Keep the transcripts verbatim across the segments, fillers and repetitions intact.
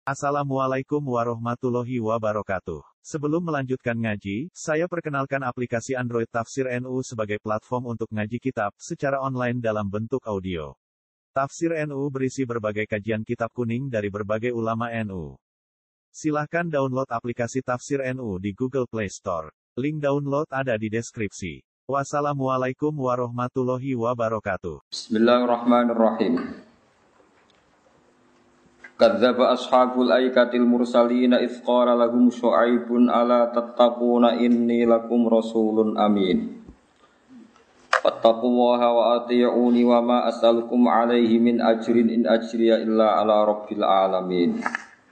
Assalamualaikum warahmatullahi wabarakatuh. Sebelum melanjutkan ngaji, saya perkenalkan aplikasi Android Tafsir N U sebagai platform untuk ngaji kitab secara online dalam bentuk audio. Tafsir N U berisi berbagai kajian kitab kuning dari berbagai ulama N U. Silahkan download aplikasi Tafsir N U di Google Play Store. Link download ada di deskripsi. Wassalamualaikum warahmatullahi wabarakatuh. Bismillahirrahmanirrahim. Kadzdzaba ashabul aikatil mursalina idz qala lahum syu'aibun ala tattaquna inni lakum rasulun amin. Fattaqullaha wa ati'uni wa ma as'alukum alaihi min ajrin in ajriya illa ala rabbil alamin.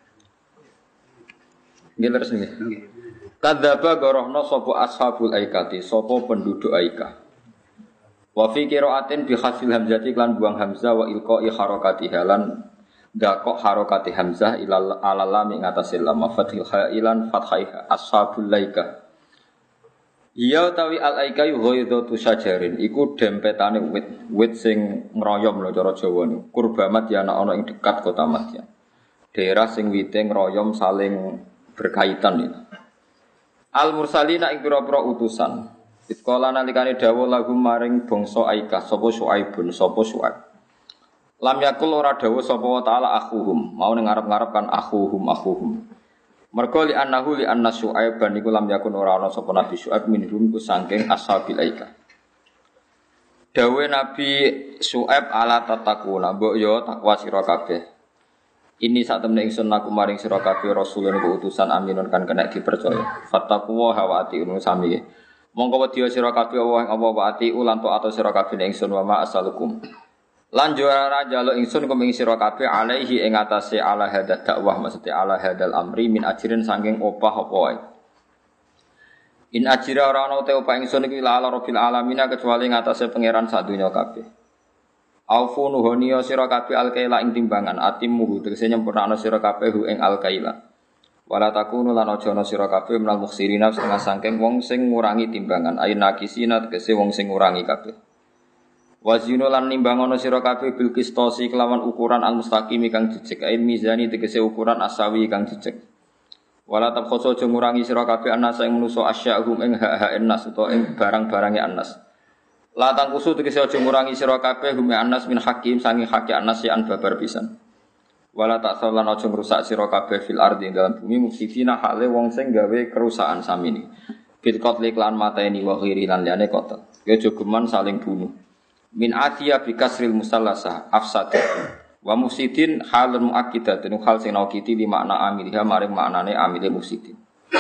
Nggih terus nggih. Kadzdzaba gorohna sapa ashabul aikati, sapa penduduk Aika. Wa fi qira'atin bi khafil hamzati lan buang hamzah wa ilqa'i harakatiha lan dakok harokati hamzah ilal alalami ngatasil lam fathil khailan fathaiha ashabul laika. Iya tawi al aika yu ghaidatu syajarin iku dempetane wit wit sing ngroyom lho cara Jawa niku kurbamat ya ana ing dekat kota Madyan. Daerah sing wite ngroyom saling berkaitan iki. Al mursalina ing pira-pira utusan. Itqala nalikane dawuh lahum maring bangsa Aika sapa Syuaibun sapa Syuaib. Lam yakul ora dawuh sapa wa ta'ala akhuhum, mau ning ngarep-ngarep kan akhuhum akhuhum. Mergo li annahu li anna Syuaib ban iku lam yakun ora ana sapa Nabi Syuaib minhum ku saking ashabil aika. Dawuh Nabi Syuaib ala tatakuna, mbok yo takwa sira kabeh. Ini sak temne ingsun aku maring sira kabeh rasulun ku utusan aminun kan kena dipercaya. Fattaqwa wa atiun sami. Mongko wedya sira kabeh Allah ing apa wa ati ulan to ato sira kabeh ingsun wa ma asalukum. Lan juara jaluk ingsun kum ing sira kabeh alaihi ing atase ala hadad dakwah maksudnya ala hadal amri min ajrin saking opah apa wae. In ajira ora ana te opah ingsun iki la ala rabbil alamin kecuali ing atase pangeran sadonya kabeh. Aufu nuhoniya sira kabeh alkaila ing timbangan atimmu tegese nyempurnakno sira kabeh ing alkaila. Wala takunu lan aja ana sira kabeh menal mukhsirina setengah saking wong sing ngurangi timbangan ayin nakisina tegese wong sing ngurangi kabeh. Wazinu lan nimbangono sira kabeh bil qistosi kelawan ukuran al mustaqim kang jejeg ain mizani tegese ukuran asawi kang jejeg. Wala tabkhoso aja ngurangi sira kabeh anas ing manusa asyahum ing hak-hak nas utawa ing barang-barange anas. La tangkusu tegese aja ngurangi sira kabeh hum anas min hakim sangi hak anas ya an babar pisan. Wala taksalan aja ngrusak sira kabeh fil ardi dalam bumi mufsidina hale wong sing gawe kerusakan samini. Bil qatli lan mateni wa ghiri lan liyane qatl. Ya jogeman saling bunuh. Min atiya bi kasril musallasa afsad wa mufsidin halun muakkidatun hal sing naukiti li makna amilha maring maknane amile mufsidin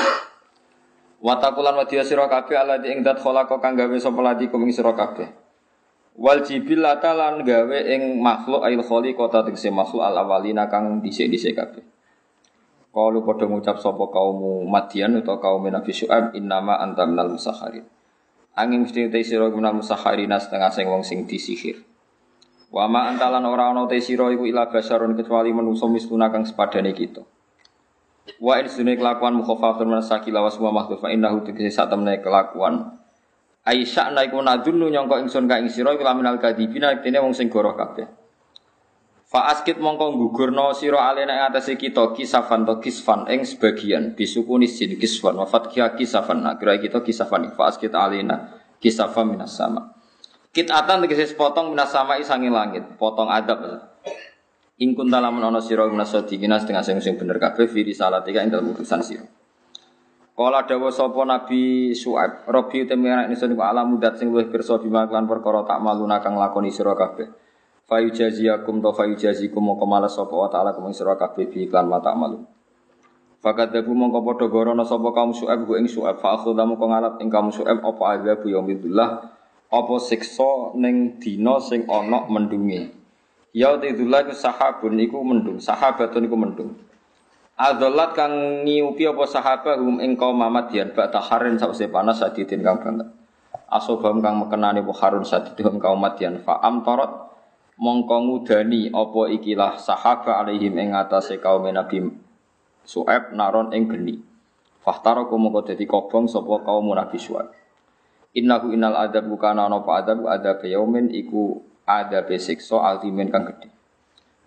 wa taqulan wa dia sira kabeh alladzi ing dat khalaqa kang gawe sapa ladi kum ing sira kabeh wal jibillata lan gawe ing makhluk ail khaliqata tegese makhluk al awalina kang dhisik-dhisik kabeh qalu padha ngucap sapa kaum Madyan utawa kaum Nabi Syuaib innama anta minal musakharin. Angin mesti te sira guna musakharina setengah sing wong sing disihir. Wa ma antalan ora ana te sira iku ila basarun kecuali manusa misluna kang sepadane kita. Wa in sunne kelakuan mukhafafatun manasaki lawas wa mahdhufa innahu tegese sak temne kelakuan. Aisyah naiku nadunu nyangka ingsun ka ing sira iku laminal kadibina dene wong sing goroh kabeh. Fa askit mongko gugurna sira alena ing atase kita kisafan to kisfan ing sebagian bisukuni sin kisfan wa fathia kisafan kira kita kisafan fa askit alena kisafan minas sama. Kitatan tegese sepotong minas sama isange langit, potong adab. In kunta lamun ana sira minas sadiqina setengah sing sing bener kabeh fi risalatika ing dalem urusan sira. Kala dawuh sapa Nabi Syuaib, Rabbi temene ingsun ku alam mudat sing luwih pirsa bima lan perkara tak maluna kang lakoni sira kabeh. Fayujaziyakum to fayujazikum mongko malas sapa wa ta'ala kumeng sira kabeh bi iklan mata malu. Fakadzabu mongko padha gorono sapa kaum Syuaib ku ing Syuaib fa akhudhamu kang ngalap ing kaum Syuaib apa azabu yaumillah apa siksa ning dina sing ana mendunge. Ya tidullah ku sahabun iku mendung, sahabatun iku mendung. Adzallat kang ngiupi apa sahabahum ing kaum Madyan ba'da harin sawise panas sadidin kang banget. Asobam kang mekenane apa harun sadidin kaum Madyan fa amtarat mongko ngudani apa ikilah sahaba alaihim ing atase kaum Nabi Syuaib naron ing geni. Fahtaraku mongko dadi kobong sapa kaum Nabi Syuaib. Innahu innal adab kana ana apa adab adab yaumin iku adabe siksa altimen kang gedhe.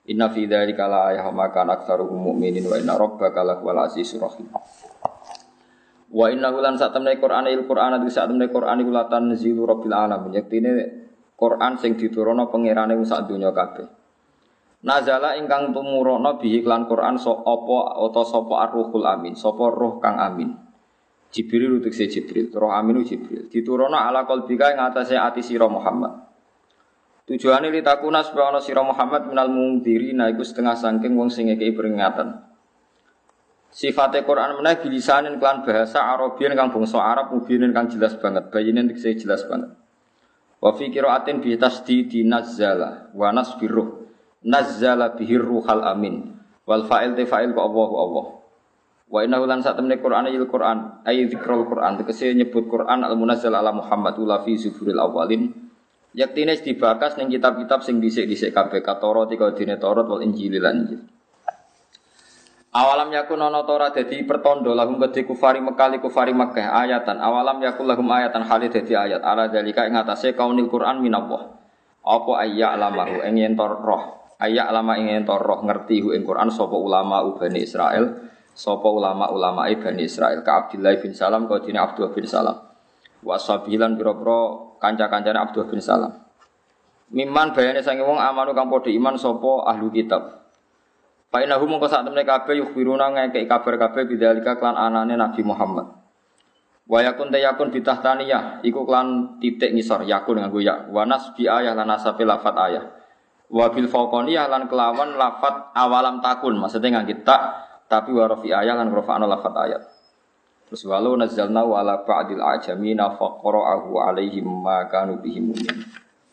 Inna fi dzalika la ayatin ma kana aktsaruhum mu'minin wa inna rabbaka lahuwal azizur rahim. Wa innahu lan satamne Qur'an il Qur'an ati satamne Qur'an iku latan zilu rabbil alamin. Yektine Qur'an sing diturunna pangerane wong sak donya kabeh. Nazala ingkang tumurana bihi lan Qur'an so apa utawa sapa ar-ruhul amin, sapa roh kang amin. Jibril utus Jibril, roh aminu Jibril. Diturunna ala qalbika ing atase ati sira Muhammad. Tujuane litakuna supaya ana sira Muhammad minal mungdirina iku setengah saking wong sing ngekeki peringatan. Sifate Quran meneh bilisanin kelan bahasa Arabian kang bangsa Arab mubinin kang jelas banget, bayinen tekse jelas banget. Wa fi qiraatin bi tasdidi nazzala wa nasbiruh. Nazzala bihir ruhal amin. Wal fa'il te fa'il ka Allahu Allah. Wa innahu lan satamne Quran il Quran ay zikrul Quran tekse nyebut Quran al munazzal ala Muhammad ula fi zuburil awalin. Yaktine dibakas ning kitab-kitab sing dhisik-dhisik kabeh Taurat iki dene Taurat wal Injil lan Injil. Awalam yakun ana Taurat dadi pertanda lahum kedhe kufari Mekah kufari Makkah ayatan awalam yakul lahum ayatan hale dadi ayat ala dalika ing atase kaunil Quran minallah. Apa ayya alamahu ing yen roh ayya alama ing yen roh ngerti hu ing Quran sapa ulama Bani Israil sapa ulama-ulama Bani Israil ka Abdullah bin Salam ka dene Abdullah bin Salam. Wa sabilan pira-pira kanca-kancane Abdullah bin Salam. Miman bayane sange wong amanu kang padha iman sapa ahlu kitab. Fa innahu mongko sak temne kabeh yukhbiruna ngekeki kabar kabeh bidzalika klan anane Nabi Muhammad. Wa yakun ta yakun bitahtaniyah iku klan titik ngisor yakun nganggo ya. Wa nasbi ayah lan nasabe lafat ayah. Wa bil faqaniyah lan kelawan lafat awalam takun maksudnya nganggo tak tapi wa rafi ayah lan rafa'na lafat ayat. Terus walau nazzalna wa ala ba'dil ajamina faqara'ahu alaihim ma kanu bihi mu'min.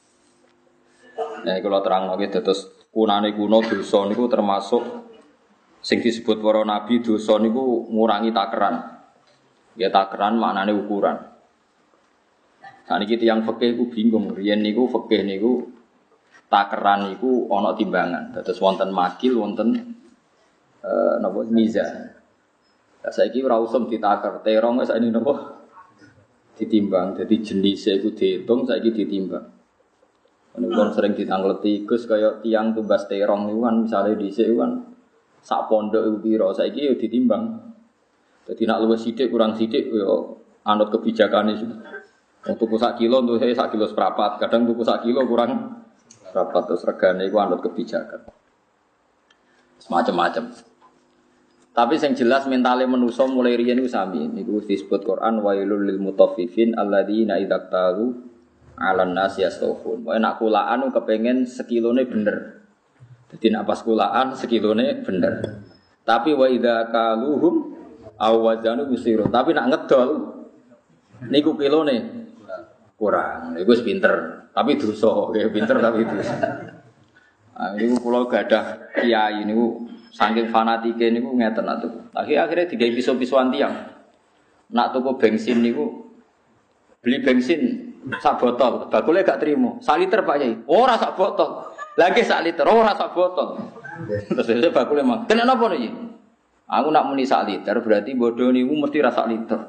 Nah, kalau terang lagi terus kunane kuno dosa niku termasuk sing disebut para nabi dosa niku ngurangi takaran. Ya takaran maknane ukuran. Nah niki tiyang fikih ku bingung, riyen niku fikih niku takaran niku ana timbangan. Terus wonten makil wonten eh napa mizan. Lah saiki ora usum ditakar, terong wis ini napa ditimbang. Jadi jenise iku diitung saiki ditimbang. Menawa sering ditangleti Gus kaya tiang tumbas terong niku kan misale dhisik kan sak pondok iku pira, saiki ya ditimbang. Dadi nek luwih sithik kurang sithik ya anut kebijakane iku. Wong tuku sak kilo tuku sak kilo seprapat, kadang tuku sak kilo kurang seprapat terus regane iku anut kebijakan. Semacam-macam. Tapi yang jelas mentale manusa mulai riyen iku sami. Niku disebut Quran wailul lil mutaffifin alladzina idza talu 'alan nas yastawfun. Pokoke nek kulaan kepengin sekilone bener. Dadi nek pas kulaan sekilone bener. Tapi wa idza kaluhum aw wazanu yusiru. Tapi nek ngedol niku kilone kurang. Niku wis pinter, tapi dosa. Nggih pinter tapi dosa. Ah niku kula gadah kiai niku saking fanatike niku ngeten nak tuku. Akhire digawe piso-pisoan tiyang. Nak tuku bensin niku beli bensin sak botol, bakule gak trimo. Sak liter Pak Yai. Ora sak botol. Lagi sak liter, ora sak botol. Terus saya bakule mang. Kena napa niki? Aku nak muni sak liter berarti bodoh niku mesti ra sak liter.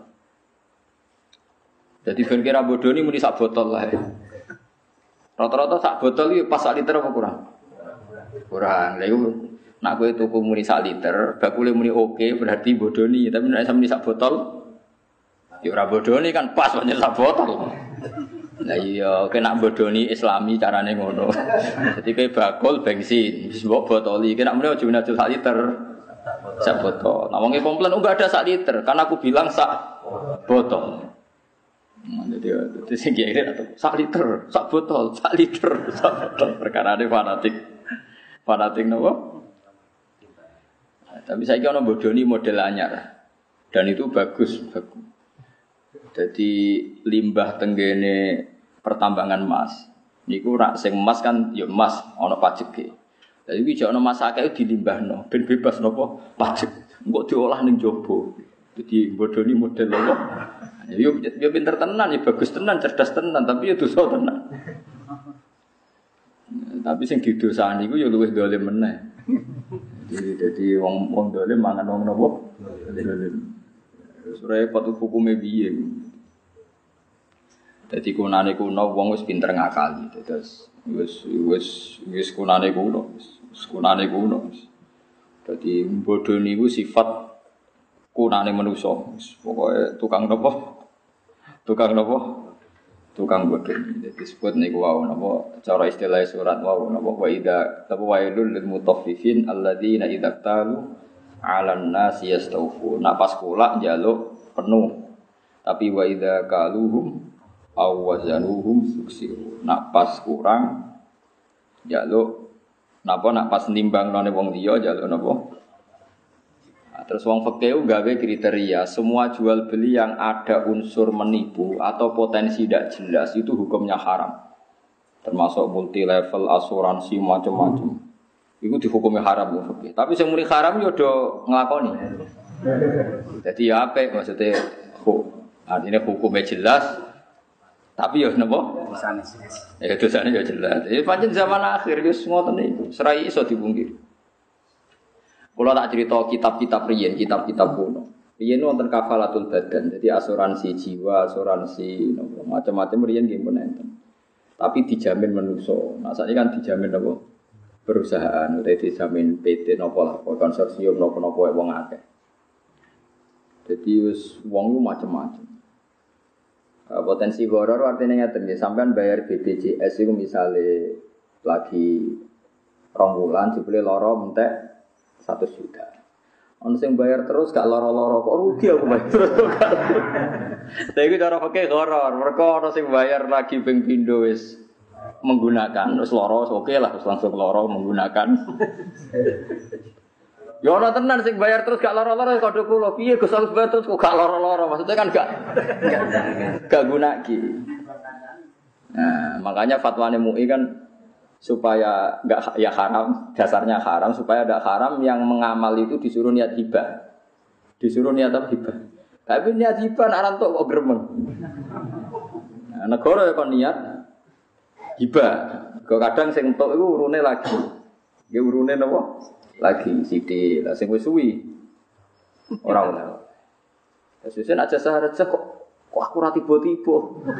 Jadi ben kira bodoh ni muni sak botol lah. Rata-rata sak botol iki pas sak liter apa kurang? Kurang. Lha iku nak kowe tuku muni sak liter, bakule muni oke berarti bodoni, tapi nek sampe sak botol ya ora bodoni kan pas pancen sak botol. Lah iya, kowe nak bodoni Islami carane ngono. Dadi kowe bakul bensin, wis mbok botoli, kowe nak muni aja muni sak liter. Sak botol. Nah wong e komplain enggak ada sak liter, kan aku bilang sak botol. Jadi itu sing kira atau sak liter, sak botol, sak liter, sak botol. Perkara ini fanatik, fanatik nopo. Nah, tapi saya kira orang bodoni model anyar, dan itu bagus, bagus. Jadi limbah tenggene pertambangan emas, niku rak sing emas kan, ya emas, ono pajak ke. Jadi bisa ono emas akeh dilimbahno, ben bebas nopo pajak, enggak diolah ning jobo. Jadi bodoni model nopo. Ya yo pinter tenan, ya bagus tenan, cerdas tenan, tapi ya dosa tenan. Tapi sing didosani iku ya luwih dolim meneh. Jadi dadi wong wong dolim mangan wong napa? Dolim. Sure patu hukume piye. Dadi kunane kuno wong wis pinter ngakali. Terus wis wis wis kunane kuno wis Kunane kuno. Dadi bodho niku sifat kunane manusa. Pokoke tukang napa? Tukang napa? Tukang bodho. Dadi disebut niku wau napa cara istilah surat wau napa wa idza tabu wailul lil mutaffifin alladzina idza talu 'alan nasi yastawfu. Nak pas kula njaluk penuh. Tapi wa idza kaluhum aw wazanuhum suksiru. Nak pas kurang njaluk napa nak pas nimbang nang wong liya njaluk napa? Nah, terus wong fikih gawe kriteria semua jual beli yang ada unsur menipu atau potensi tidak jelas itu hukumnya haram. Termasuk multi level asuransi macam-macam. Iku dihukumi haram wong fikih. Tapi sing muni haram yo do nglakoni. Jadi ya apik maksudnya artinya hukumnya jelas. Tapi ya napa? Dosane. Ya dosane ya jelas. Ya pancen zaman akhir wis ngoten niku, serai iso dipungkiri. Kula tak cerita kitab-kitab riyen, kitab-kitab kuno. Riyen wonten kafalatul badan, jadi asuransi jiwa, asuransi napa macam-macam riyen nggih pun enten. Tapi dijamin manusa. Nah sakniki kan dijamin napa? Perusahaan utawa dijamin P T napa lah, konsorsium napa-napa wong akeh. Jadi wis wong ku macam-macam. Potensi horor artinya ngeten nggih, sampean bayar B P J S iku misale lagi rong wulan jebule lara entek seratus juta. Ono sing bayar terus gak lara-lara kok rugi aku bayar terus. Tapi iku cara fikih horor, mergo ono sing bayar lagi ping pindho wis menggunakan terus lara oke lah terus langsung lara menggunakan. Ya ora tenan sing bayar terus gak lara-lara kode kula. Piye Gus harus bayar terus kok gak lara-lara? Maksudnya kan gak gak guna ki. Nah, makanya fatwane M U I kan supaya enggak ya haram, dasarnya haram supaya ada haram yang mengamal itu disuruh niat hibah. Disuruh niat apa hibah. Tapi niat hibah nek rantuk kok gremeng. Nah, negara ya kon niat hibah. Kok kadang sing entuk iku urune lagi. Nggih urune napa? Lagi sithik, lah sing wis suwi. Ora ora. Sesuk nek jasa reja kok kok aku ora tiba-tiba.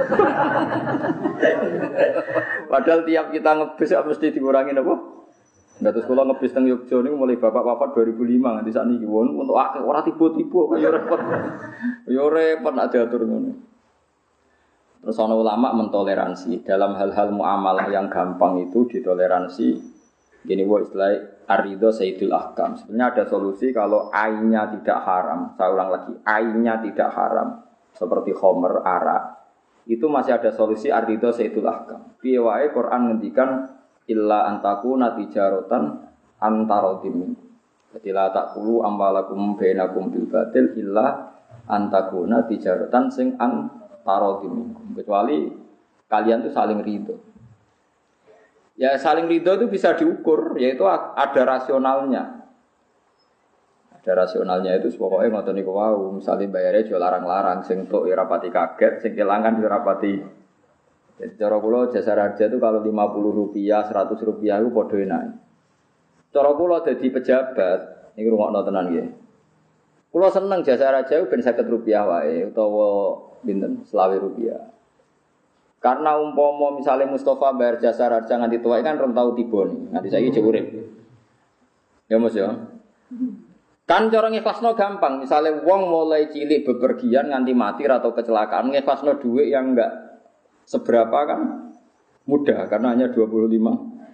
Padahal tiap kita ngebis mesti dikurangi napa? Dados kula ngebis teng Yogya niku mulai bapak wafat dua ribu lima nganti sakniki won untuk akeh ora tiba-tiba kaya repot. Ya repot nek diatur ngono. Terus ana ulama mentoleransi dalam hal-hal muamalah yang gampang itu ditoleransi. Gini wo istilah ar-ridho sayyidul ahkam. Sebenarnya ada solusi kalau ainnya tidak haram. Saya ulang lagi, ainnya tidak haram seperti khamr, arak. Itu masih ada solusi ar-ridho sayyidul ahkam. Piye wae Quran ngendikan illa antakuna tijaratan antarodim. Jadi la taqulu amwalakum bainakum bil batil illa antakuna tijaratan sing antarodim. Kecuali kalian tuh saling ridho. Ya saling ridho itu bisa diukur, yaitu ada rasionalnya. Ada rasionalnya itu pokoknya ngoten niku wau, misale bayare aja larang-larang, sing tok ya rapati kaget, sing kelangan ya rapati. Jadi cara kula jasa raja itu kalau lima puluh rupiah, seratus rupiah itu padha enak. Cara kula dadi pejabat, niku rungokno tenan nggih. Kula seneng jasa raja ben seket rupiah wae utawa pinten selawe rupiah. Karena umpama misalnya Mustafa bayar jasa raja nganti tua kan rong tau tiba nih, nganti saiki jek urip. Ya Mas ya. Kan cara ngikhlasno gampang, misalnya wong mulai cilik bepergian nganti mati atau kecelakaan ngikhlasno dhuwit yang enggak seberapa kan mudah karena hanya dua puluh lima.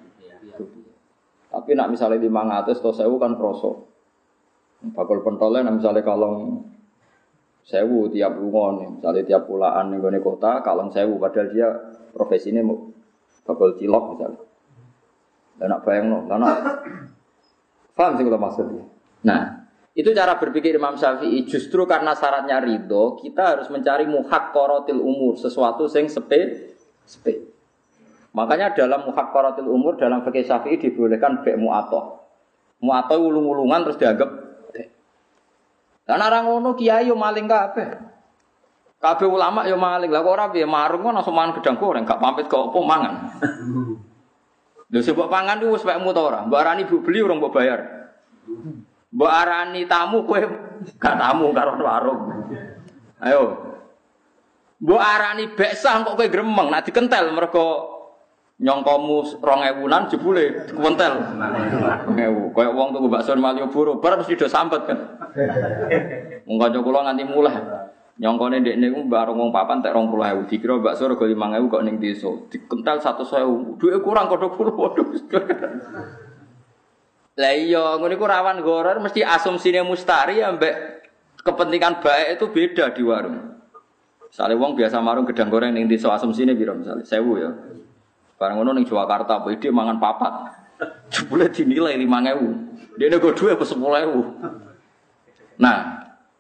Tapi nak misalnya lima ratus atau seribu kan kroso. Bakul pentolnya misalnya kalong sewu tiap lunga nih, misalnya tiap pulaan ning gone kota kalong sewu padahal dia profesinya mau bakul cilok misalnya. Dan nak bayangno, lan paham sih kalau maksudnya. Nah, itu cara berpikir Imam Syafi'i. Justru karena syaratnya ridho, kita harus mencari muhaqqaratil umur, sesuatu yang sepe sepe. Makanya dalam muhaqqaratil umur dalam fikih Syafi'i dibolehkan be' mu'athah. Mu'athah ulung-ulungan terus dianggap lan ora ngono kiai yo maling kabeh. Kabeh ulama yo maling. Lah kok ora piye marung kok langsung mangan gedang goreng, gak pamit kok opo mangan. Lho sebab pangan ku wis wekmu ta ora? Mbok arani bu beli urung mbok bayar. Mbok arani tamu kowe gak tamu karo warung. Ayo. Mbok arani beksah kok kowe gremeng, nek dikentel mergo Nyongkomu rong ewunan jebule kuwentel. rong ewu. Kayak wong tuku bakso Malioboro, bar mesti do sampet kan. Wong kanca kula nganti mulih. Nyongkone ndekne ku bareng wong papan tek rong puluh ewu. Dikira bakso rega lima ewu kok ning desa. Dikental seratus ewu. Duwe kurang kodho kula waduh. Lah iya, ngono iku rawan goror mesti asumsine mustari ambek kepentingan baik itu beda di warung. Misale wong biasa marung gedang goreng ning desa asumsine piro misale seribu ya. Barang ngono ning Jakarta, apa ide mangan papat. Jebule dinilai lima ewu. Dene go duwe sepuluh ewu. Nah,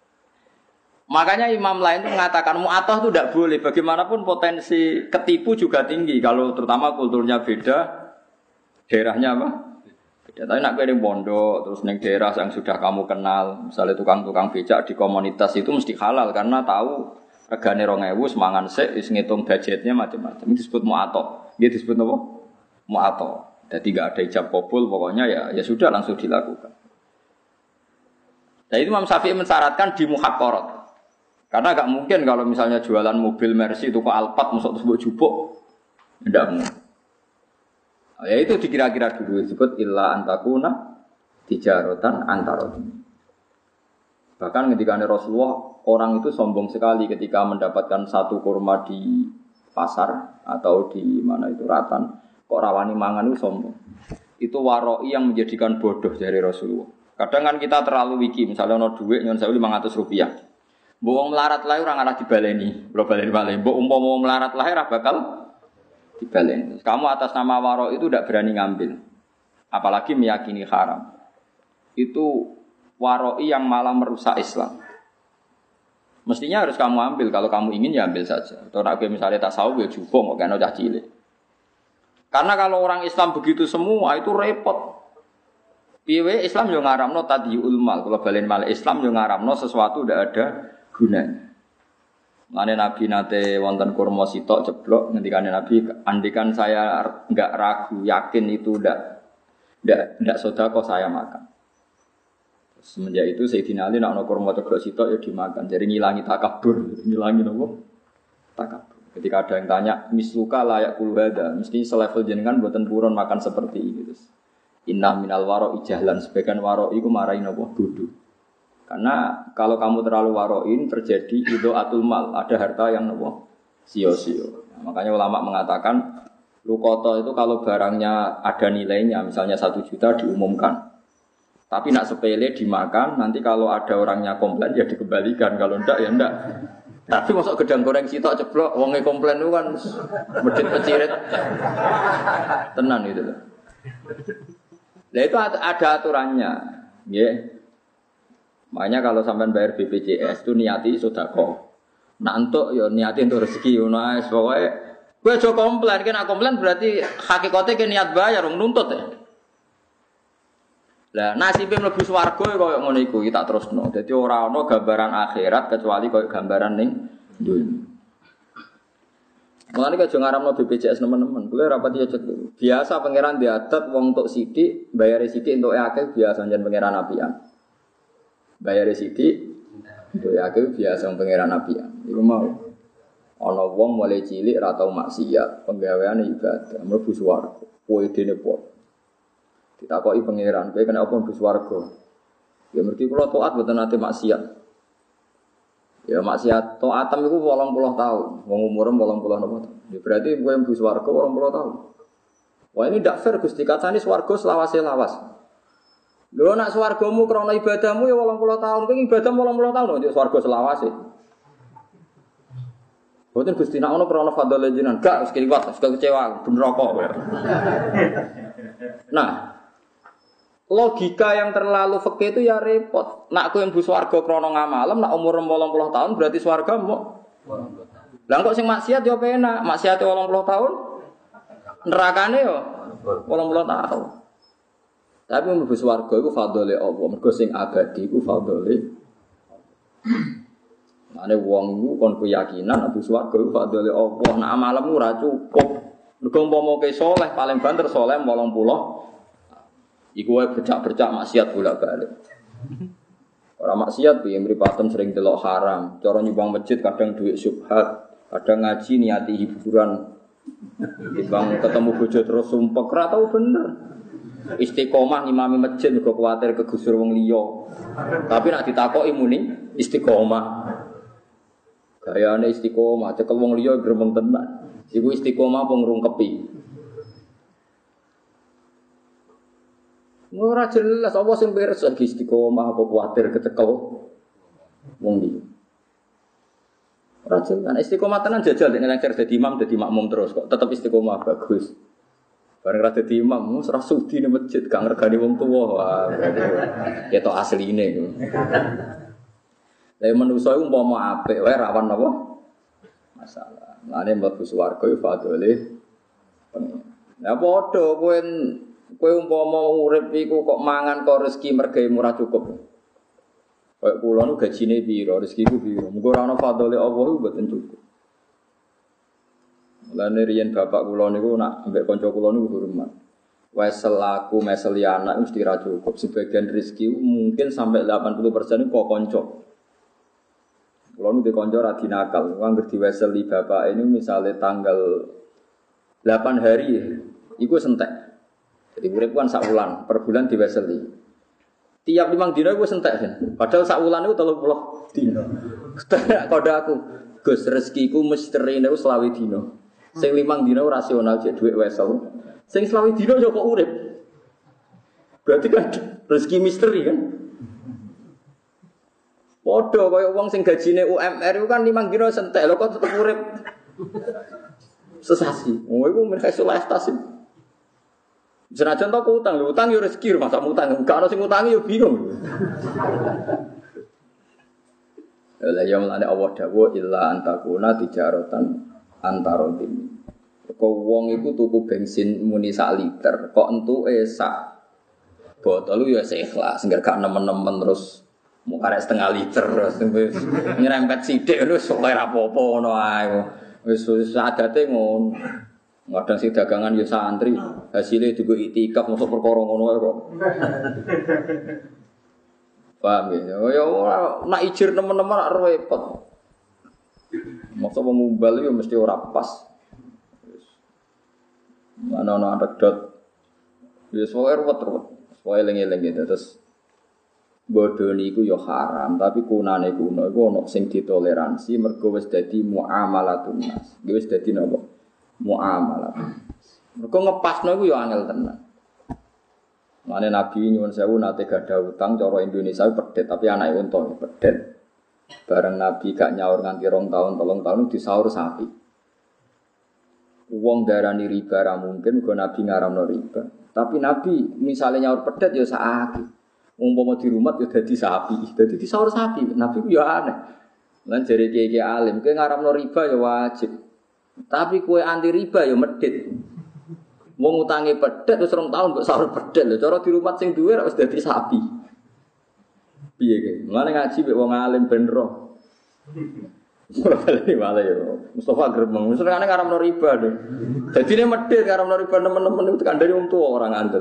makanya imam lain itu mengatakan mu'atoh itu tidak boleh. Bagaimanapun potensi ketipu juga tinggi. Kalau terutama kulturnya beda, daerahnya apa? Beda. Tapi nak kirim pondok, terus neng daerah yang sudah kamu kenal, misalnya tukang-tukang becak di komunitas itu mesti halal karena tahu regane rong ewu semangan sik, wis ngitung budgetnya macam-macam. Ini disebut mu'atoh. Dia disebut apa? Mu'atoh. Jadi tidak ada ijab kabul, pokoknya ya ya sudah langsung dilakukan. Nah itu Imam Syafi'i mensyaratkan di muhaqqarat. Karena agak mungkin kalau misalnya jualan mobil Mercy itu kok Alphard masuk tersebut jupuk. Tidak mungkin. Nah, ya itu dikira-kira dulu disebut illa antakuna tijaratan antarodin. Bahkan ketika Rasulullah orang itu sombong sekali ketika mendapatkan satu kurma di pasar atau di mana itu ratan, kok rawani mangan itu sombong. Itu waroi yang menjadikan bodoh dari Rasulullah. Kadang kan kita terlalu wiki, misalnya ono duit nyon sewu lima ratus rupiah. Mbok melarat lae ora ngalah dibaleni, ora baleni-baleni. Mbok umpama melarat lae ora bakal dibaleni. Kamu atas nama waroi itu tidak berani ngambil. Apalagi meyakini haram. Itu waroi yang malah merusak Islam. Mestinya harus kamu ambil, kalau kamu ingin ya ambil saja. Atau nak misalnya tasawuf ya cukup, kok kena cah cilik. Karena kalau orang Islam begitu semua itu repot. Piye Islam yo ngaramno tadiyul mal, kalau balen mal Islam yo ngaramno sesuatu ndak ada gunanya. Mane Nabi nate wonten kurma sitok ceblok ngendikane Nabi, andikan saya enggak ragu, yakin itu ndak ndak ndak sedekah saya makan. Semenjak itu Sayyidina Ali nak ono kurma ceblok sitok ya dimakan. Jadi ngilangi takabur, ngilangi nopo? Takabur. Ketika ada yang tanya, misluka layak kulhada, mesti selevel jenengan buatan purun makan seperti ini. Inna minal waro ijahlan, sebagian waro iku marahin nopo bodoh. Karena kalau kamu terlalu waroin terjadi itu atul mal, ada harta yang nopo sio-sio. Nah, makanya ulama mengatakan lukoto itu kalau barangnya ada nilainya, misalnya satu juta diumumkan. Tapi nak sepele dimakan, nanti kalau ada orangnya komplain ya dikembalikan, kalau enggak ya enggak. Tapi masuk gedang goreng sitok ceblok, wongnya komplain itu kan medit pecirit, tenan gitu loh. Nah itu ada aturannya, ya. Makanya kalau sampai bayar B P J S itu niati sedekah. Nak entuk ya niati untuk rezeki, nah pokoknya gue coba komplain, kan nak komplain berarti hakikatnya kan niat bayar, nuntut ya. Lah nasibé mlebu swarga koyo ngono iku iki tak terusno. Dadi ora ana gambaran akhirat kecuali koyo gambaran ning dunya. Mulane aja ngaramno B P J S nemen-nemen. Kuwi rapati aja biasa pangeran diatet wong tok sithik, bayare sithik entuk akeh biasa jan pangeran apian. Bayare sithik entuk akeh biasa wong pangeran apian. Iku mau ana wong mulai cilik ra tau maksiat, penggaweane ibadah, mlebu swarga. Kowe dene po. Ditakoki pangeran, kowe kena apa mlebu swarga? Ya mergi kula taat mboten nate maksiat. Ya maksiat taatem iku wolong puluh tahun, wong umure wolong puluh napa. Ya berarti kowe mlebu swarga wolong puluh tahun. Wah ini ndak fair Gusti, katane swarga selawase lawas. Lho nek swargamu krana ibadahmu ya wolong puluh tahun, kowe ibadah wolong puluh tahun kok swarga selawase. Boten Gusti nek ono krana fadhole jenengan, gak wis kliwat, wis kecewa, ben neraka. Nah, logika yang terlalu fikih itu ya repot. Nak kowe mlebu swarga krana ngamalem, nak umur wolong puluh tahun berarti swarga mbok. Lah kok sing maksiat yo penak, maksiate wolong puluh tahun. Nerakane yo wolong puluh tahun. Tapi mlebu swarga iku fadhole Allah, mergo sing abadi iku fadhole. Mane wong iku kon keyakinan mlebu swarga iku fadhole Allah, nak amalmu ora cukup. Mergo umpama ke saleh paling banter saleh wolong puluh. Iku wae bercak-bercak maksiat bolak-balik. Ora maksiat piye mripaten sering delok haram, cara nyumbang masjid kadang duit syubhat, kadang ngaji niati hiburan. Timbang ketemu bojo terus sumpek ora tau bener. Istiqomah ngimami masjid kok kuwatir kegusur wong liya. Tapi nek ditakoki muni istiqomah. Gayane istiqomah, cekel wong liya gremeng tenan. Iku istiqomah apa ngrungkepi. Ora jelas apa sing beres iki istiqomah apa kuwatir kecekel wong liya. Ora jelas istiqomah tenan jajal nek nang dadi imam dadi makmum terus kok tetep istiqomah bagus. Bareng ra dadi imam, ora sudi ning masjid, gak ngregani wong tuwa. Wah, ketok asline. Lah manusa iku umpama apik wae rawan apa? Masalah. Lane mlebu swarga iku fadhole pengen. Lah padha kowe kowe umpama urip iku kok mangan kok rezeki mergawe murah cukup. Kayak kula nu gajine piro, rezekiku piro. Muga ora ana fadhole Allah iku mboten cukup. Lan riyen bapak kula niku nak ambek kanca kula niku hormat. Wes selaku meseli anak mesti ra cukup. Sebagian rezeki mungkin sampai delapan puluh persen kok kanca. Kula niku kanca ra dinakal. Wong diweseli bapak ini misalnya tanggal delapan hari iku sentek. Jadi urip kan sak wulan, per bulan diweseli. Tiap limang dina iku sentek kan. Padahal sak wulan iku tiga puluh dina. Kode aku, Gus rezekiku misteri niku selawe dina. Sing limang dina rasional jek dhuwit wesel. Sing selawe dina yo kok urip. Berarti kan rezeki misteri kan. Padha kaya wong sing gajine U M R iku kan limang dina sentek lho kok tetep urip. Sesasi. Oh iku mereka solestas. Senajan to utang lho, utang yo rezeki masa utang. Gak ono sing utangi yo bingung. La ya mulane Allah dawuh illa antakuna tijaratan antarodim. Kok wong iku tuku bensin muni sak liter, kok entuke sak botol ya ikhlas, enggak gak nemen-nemen terus mau karek setengah liter terus nyerempet sithik terus ora apa-apa ngono ae. Wis wis adate ngono. Kadang sing dagangan ya santri, hasilnya juga itikaf masuk perkara ngono ae kok. Paham ya? Ya ora nak ijir nemen-nemen ora repot. Masa mengumbal itu mesti ora pas. Mana-mana ada dot. Ya soalnya ruwet-ruwet. Soalnya eling-eling gitu. Terus bodoh niku ya haram, tapi kunane kuno iku ana sing ditoleransi mergo wis dadi muamalatun nas. Wis dadi napa? Muamalah. Mergo ngepasno iku ya angel tenan. Mane Nabi nyuwun sewu nate gadah utang cara Indonesia pedet, tapi anake unta pedet. Bareng Nabi gak nyaur nganti rong tahun, tolong tahun disaur sapi. Wong darani riba ra mungkin, go Nabi ngaramno riba. Tapi Nabi misalnya nyaur pedet ya saaki. Umpama di rumah ya dadi sapi, dadi disaur sapi. Nabi ku ya aneh. Lan jare kiye-kiye alim, kowe ngaramno riba ya wajib. Tapi kowe anti riba ya medhit. Wong utange pedet wis rong tahun mbok saur pedet lho. Cara di rumah sing duwe wis dadi sapi. Piye iki? Mulane ngaji mek wong alim ben roh. Ora bali wae yo. Mustafa gremeng. Wis rekane ngaramno riba lho. Dadine medhit ngaramno riba nemen-nemen itu kandhane wong tuwa ora ngandel.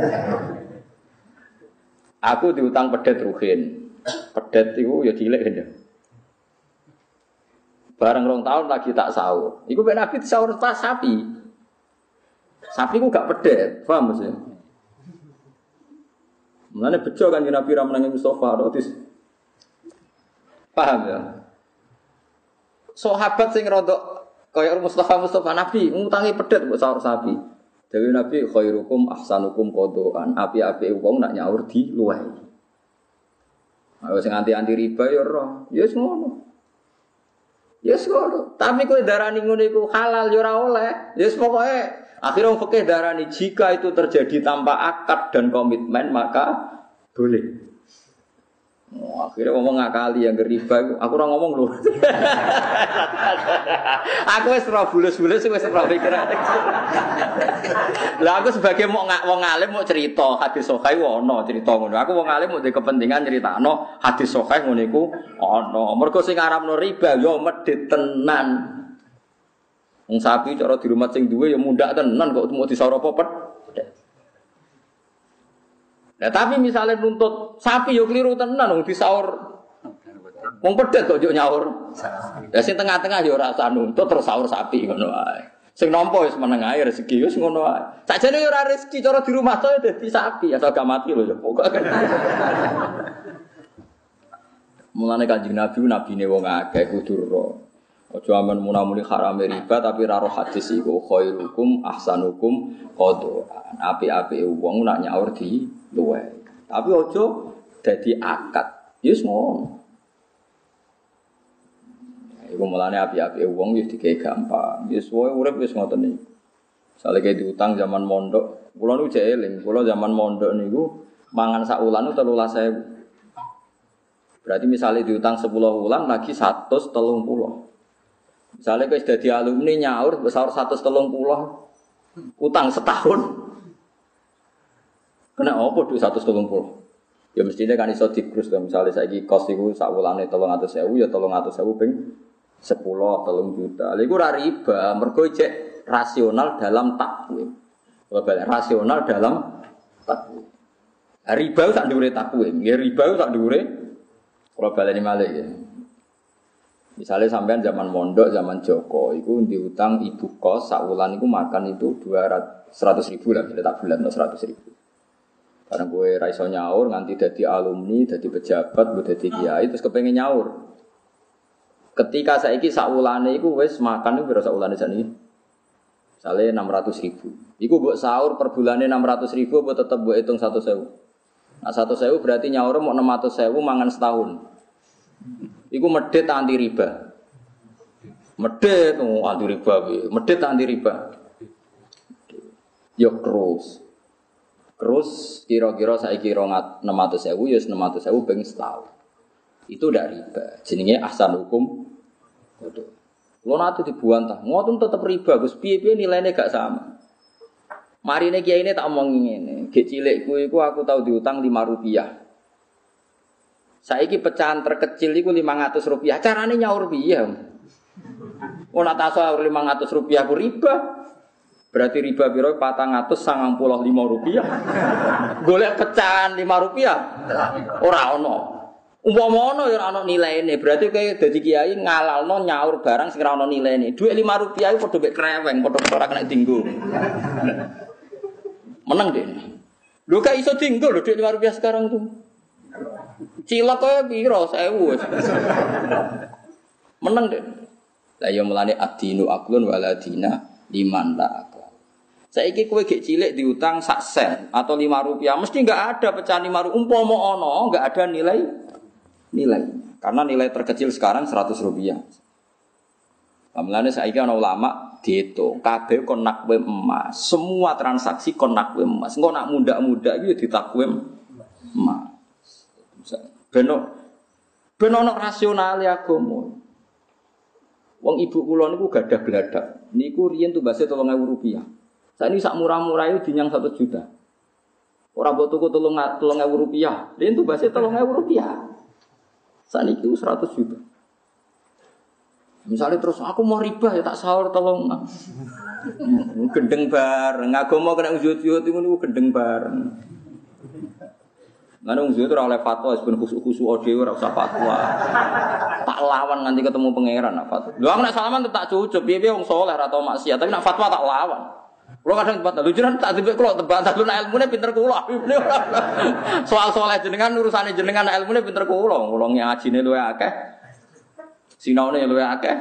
Aku diutang pedet ruhin. Pedet iku ya cilik kan. Bareng rong tahun lagi tak sahur. Iku ben Nabi sahur pas sapi. Sapi ku gak pedet, paham mesti. Mulane bejo kan Nabi ra menangi Mustafa rotis. Paham ya? Sahabat sing rodok kaya Mustafa Mustafa Nabi ngutangi pedet kok sahur sapi. Dewe Nabi khairukum ahsanukum qadaan. Api-api wong nak nyaur di luweh. Ayo sing anti-anti riba ya ora. Ya wis ngono. Ya wis ngono. Tapi kowe darani ngono iku halal ya ora oleh. Ya wis pokoke akhirnya fikih darani jika itu terjadi tanpa akad dan komitmen maka boleh. Oh, akhirnya ngomong ngakali yang riba, aku ora ngomong lho. Aku wis ora bulus-bulus wis ora pikiran. Lah aku sebagai mau wong alim mau cerita hadis sahih ono cerita ngono. Aku wong alim mau di kepentingan nyeritakno hadis sahih ngono iku ono. Mergo sing aramno riba yo medhit tenan. Wong sapi cara di rumah sing duwe ya mundak tenan kok mau disaur apa pet. Nah tapi misalnya nuntut sapi yo keliru tenan wong disaur. Wong pedet kok yo nyaur. Lah sing tengah-tengah yo ora usah nuntut terus saur sapi ngono wae. Sing nampa wis meneng ae rezeki wis ngono ae. Sakjane yo ora rezeki cara di rumah to dadi sapi asal gak mati lho ya. Pokoke. Mulane Kanjeng Nabi nabine wong akeh kudu ro. Aja amen munamuni haram riba tapi ra roh hadis iku khairukum ahsanukum qadaan. Api-api wong nak nyaur di luwe. Tapi aja dadi akad. Wis ngono. Iku mulane api-api wong wis dikei gampang. Wis wae urip wis ngoten iki. Sale ke diutang zaman mondok, kula niku jek eling, kula zaman mondok niku mangan sak wulan tiga belas ribu. Berarti misalnya diutang sepuluh wulan lagi seratus tiga puluh. Misalnya wis dadi alumni nyaur besar seratus tiga puluh. Utang setahun. Kena apa duit seratus tiga puluh? Ya mestinya kan iso dikrus to, misalnya saiki kos iku sak wulane tiga ratus ribu ya tiga ratus ribu ping sepuluh tiga juta. Lha iku ora riba, mergo cek rasional dalam takwim. Rasional dalam takwim. Riba sak dhuwure takwim, ya riba sak dhuwure kula baleni malih ya. Misalnya sampean zaman mondok, zaman Joko, iku diutang ibu kos sak wulan iku makan itu dua ratus seratus ribu lah, tak bulan seratus ribu. Karena gue ra iso nyaur nganti dadi alumni, dadi pejabat, gue dadi kiai terus kepengin nyaur. Ketika saiki sak wulane iku wis makan iku pira sak wulane sakniki? Misale enam ratus ribu. Iku mbok sahur per bulane enam ratus ribu apa tetep mbok hitung seratus ribu? Nah seratus ribu berarti nyaur mau enam ratus ribu mangan setahun. Iku medhit anti riba. Medhit oh, anti riba piye? Medhit anti riba. Yo terus. Terus kira-kira saiki enam ratus ribu ya enam ratus ribu ping setahun. Itu ndak riba. Jenenge ahsan hukum. Lo nanti dibuantah, ngoten tetep riba, Gus. Piye-piye nilainya gak sama. Marine kiai ini tak omongin ngene, gek cilikku iku aku tahu diutang lima rupiah. Saiki pecahan terkecil iku lima ratus rupiah. Carane nyaur piye? Ora tak sahur lima ratus rupiah ku riba. Berarti riba piro empat ratus sembilan puluh lima rupiah. Golek pecahan lima rupiah. Ora ono. Umpama ono ya ora ono nilaine, berarti kowe dadi kiai ngalalno nyaur barang sing ora ono nilaine. Dhuwit lima rupiah iku padha mek kreweng, padha ora kena dienggo. Meneng deh. Lho gak iso dienggo lho dhuwit lima rupiah sekarang tuh. Cilok kowe piro seribu wis. Meneng deh. Lah ya mulane adinu aklun waladina liman la akal. Saiki kowe gek cilik diutang sak sen atau lima rupiah, mesti enggak ada pecahan lima rupiah. Umpama ono enggak ada nilai nilai. Karena nilai terkecil sekarang seratus rupiah. Pamlane saiki ana ulama diitung, kabeh kon nakwim emas. Semua transaksi kon nakwim emas. Engko nak muda-muda iki ditakwim emas. Beno beno ana rasionale agama. Wong ibu kula niku gadah gladak. Niku riyen tumbase tiga ribu rupiah. Saiki sak murah-murah itu dinyang satu juta. Ora mbok tuku tiga ribu rupiah. Riyen tumbase tiga ribu rupiah. Saniki seratus juta. Misalnya terus aku mau riba ya tak sahur tolong. Gendeng bareng, agama kena ujut-ujut itu niku gendeng bareng. Lan ujut ora oleh fatwa ben khusuk-khusuk dhewe ora usah fatwa. Tak lawan nganti ketemu pangeran nak fatwa. Lho aku nek salaman tak cucup, piye-piye wong saleh ora tau maksiat, tapi nak fatwa tak lawan. Kulo kadang tempat lho jenengan tak dipik kulo tebak lu nek ilmune pinter kulo. Soal saleh jenengan urusane jenengan ilmune pinter kulo. Kulo ngajine luwe akeh. Sinaune luwe akeh.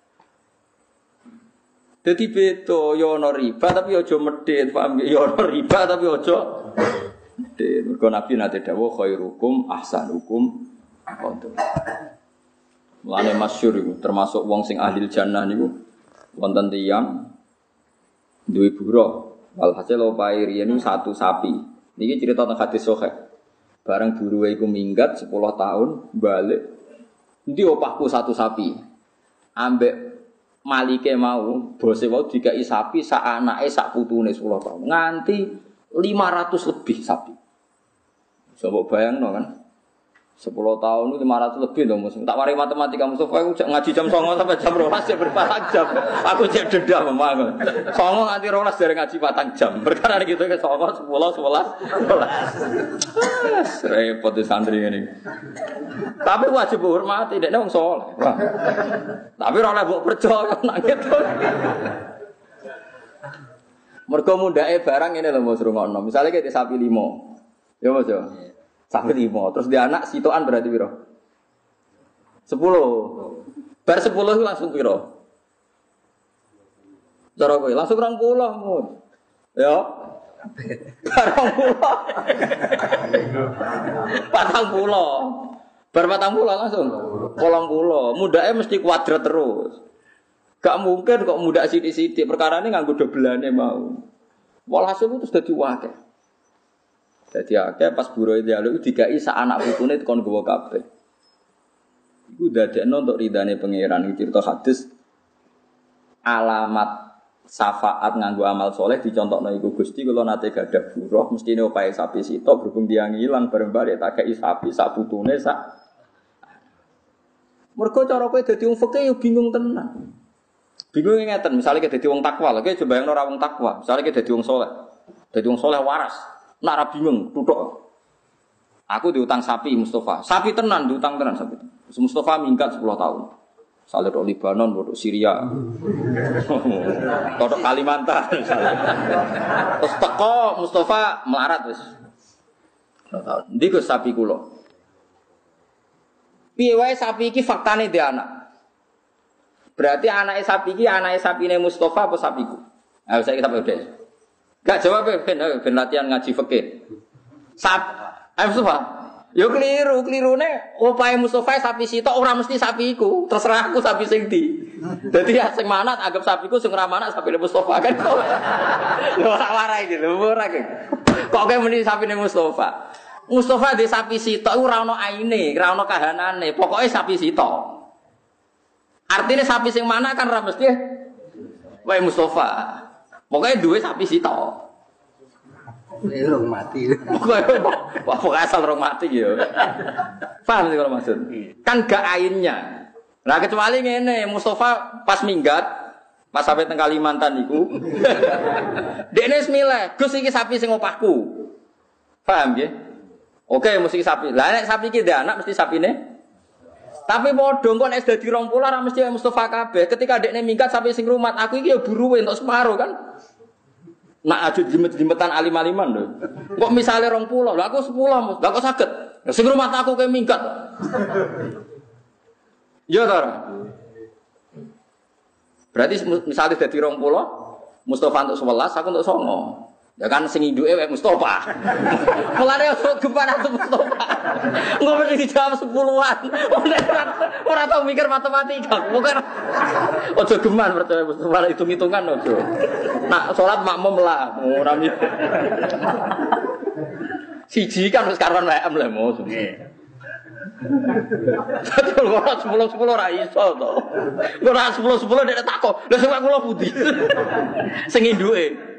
Dadi beto yo ana riba tapi aja medhit, paham ya? Yo ana riba tapi aja medhit. Mergo Nabi nate dawuh khairukum ahsanukum qadar. Mulane masyhur iku termasuk wong sing ahli jannah niku wonten tiyang duwe buruh, walhasil opahe riyen satu sapi. Niki cerita tentang hadis sahih. Bareng buruhe iku minggat sepuluh tahun balik. Endi opahku satu sapi. Ambek malike mau, bose mau dikai sapi sak anake sak putune sepuluh tahun. Nganti lima ratus lebih sapi. Coba bayangno kan. sepuluh tahun itu lima ratus lebih dong Mus. Tak wari matematika Mustafa aku ngaji jam sembilan sampai jam dua belas ya berpatang jam. Aku cek denda memang. Songo nganti dua belas dari ngaji patang jam. Perkara gitu ke songo sepuluh sebelas dua belas. Repot di santri ini. Tapi wajib hormati dekne wong saleh. Tapi ora oleh mbok percaya nak gitu. Mergo mundake barang ngene lho Mas rungokno. Misale kayak sapi limo. Ya Mas yo. Sapi limo, terus dia anak sitoan berarti piro? sepuluh. Bar sepuluh langsung piro? Cara kowe langsung rong puluh, Mun. Ya. Rong puluh. Patang puluh. Bar patang puluh langsung. Kolong puluh. Mundake mesti kuadrat terus. Gak mungkin kok muda sithik-sithik, perkarane nganggo dobelane mau. Walhasil itu sudah diwakil. Dadi akeh pas buruh dialog dikai sak anak putune tekon gowo kabeh. Iku dadekno untuk ridane pangeran iki cerita hadis alamat syafaat nganggo amal soleh dicontokno iku Gusti kula nate gadah buruh mestine opahe sapi sitok berhubung tiyang ilang bareng bare tak kei sapi sak putune sak. Mergo cara kowe dadi wong fikih yo bingung tenan. Bingung ngeten, misalnya kita jadi wong takwa, lagi coba yang orang wong takwa, misalnya kita jadi wong soleh, jadi wong soleh waras, nara bingung, tutok. Aku diutang sapi Mustafa, sapi tenan diutang tenan sapi. Mustafa minggat sepuluh tahun, misalnya dari Libanon, dari Syria, dari Kalimantan, terus teko Mustafa melarat wis, sepuluh tahun. Ndiku sapi kulo. Piye wae sapi iki faktane dia anak. Berarti anake sapi iki anake sapine Mustafa apa sapiku? Ah saya kita udah. Gak jawab ben ben latihan ngaji fikih. Sap, ayo Mustafa. Yo keliru, kelirune opahe Mustafa sapi sitok ora mesti sapiku. Terserah aku sapi sing ndi. Dadi ya sing manat anggap sapiku sing ora manat sapine Mustafa kan. Lho ora warai iki lho ora iki. Kok kowe muni sapine Mustafa? Mustafa di sapi sitok ora ono aine, ora ono kahanane. Pokoke sapi sitok. Artinya sapi sing mana kan ra mesti wae Mustafa. Pokoke duwe sapi sitok. Rong mati. Pokoke asal rong mati ya. Paham sih kalau maksud? Kan gak ainnya. Nah kecuali ngene, Mustafa pas minggat, pas sampai teng Kalimantan niku. Dekne wis milih, Gus iki sapi sing opahku. Paham nggih? Oke, mesti sapi. Lah nek sapi iki ndek anak mesti sapine tapi padha kok nek dadi rong puluh ora mesti Mustafa kabeh. Ketika dekne minggat sampai sing rumat, aku iki ya buruwe entuk separo kan. Nak ajut jimet-jimetan alim-aliman lho. Kok misale rong puluh, lha aku sepuluh, lha kok saged. Sing rumat aku ke minggat. Ya ta. Berarti misale dadi rong puluh, Mustafa entuk sebelas, aku entuk songo. Ya kan sing induke wae Mustafa. Mulane kok gempan aku Mustafa. Engko mesti dijawab sepuluhan. Ora tau mikir matematika. Bukan. Ojo geman percaya Mustafa hitung-hitungan ojo. Nak salat makmum lah, ora mikir. Siji kan wis karuan W M lah mos. Betul ora sepuluh sepuluh ora iso to. Ora sepuluh sepuluh nek takok, lha sing kula pundi. Sing induke.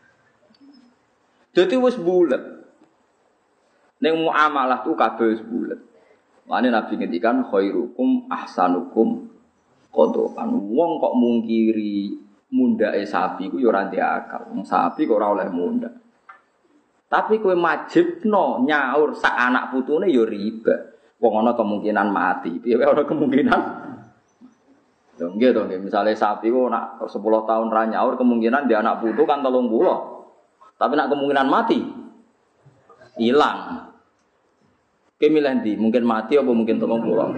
Jadi wis bulet. Ning muamalah tu kabeh wis bulet. Mane Nabi ngendikan khairukum ahsanukum qadaan. Wong kok mungkiri mundake sapi ku ya ora ndek akal. Wong sapi kok ora oleh mundak. Tapi kowe majibno nyaur sak anak putune ya riba. Wong ana kemungkinan mati. Piye ana kemungkinan? Lho nggih to nggih, misale sapi ku nak sepuluh tahun ra nyaur kemungkinan dia anak putu kan telung puluh. Tapi nak kemungkinan mati hilang. Kemilih ndi? Mungkin mati apa mungkin telung puluh.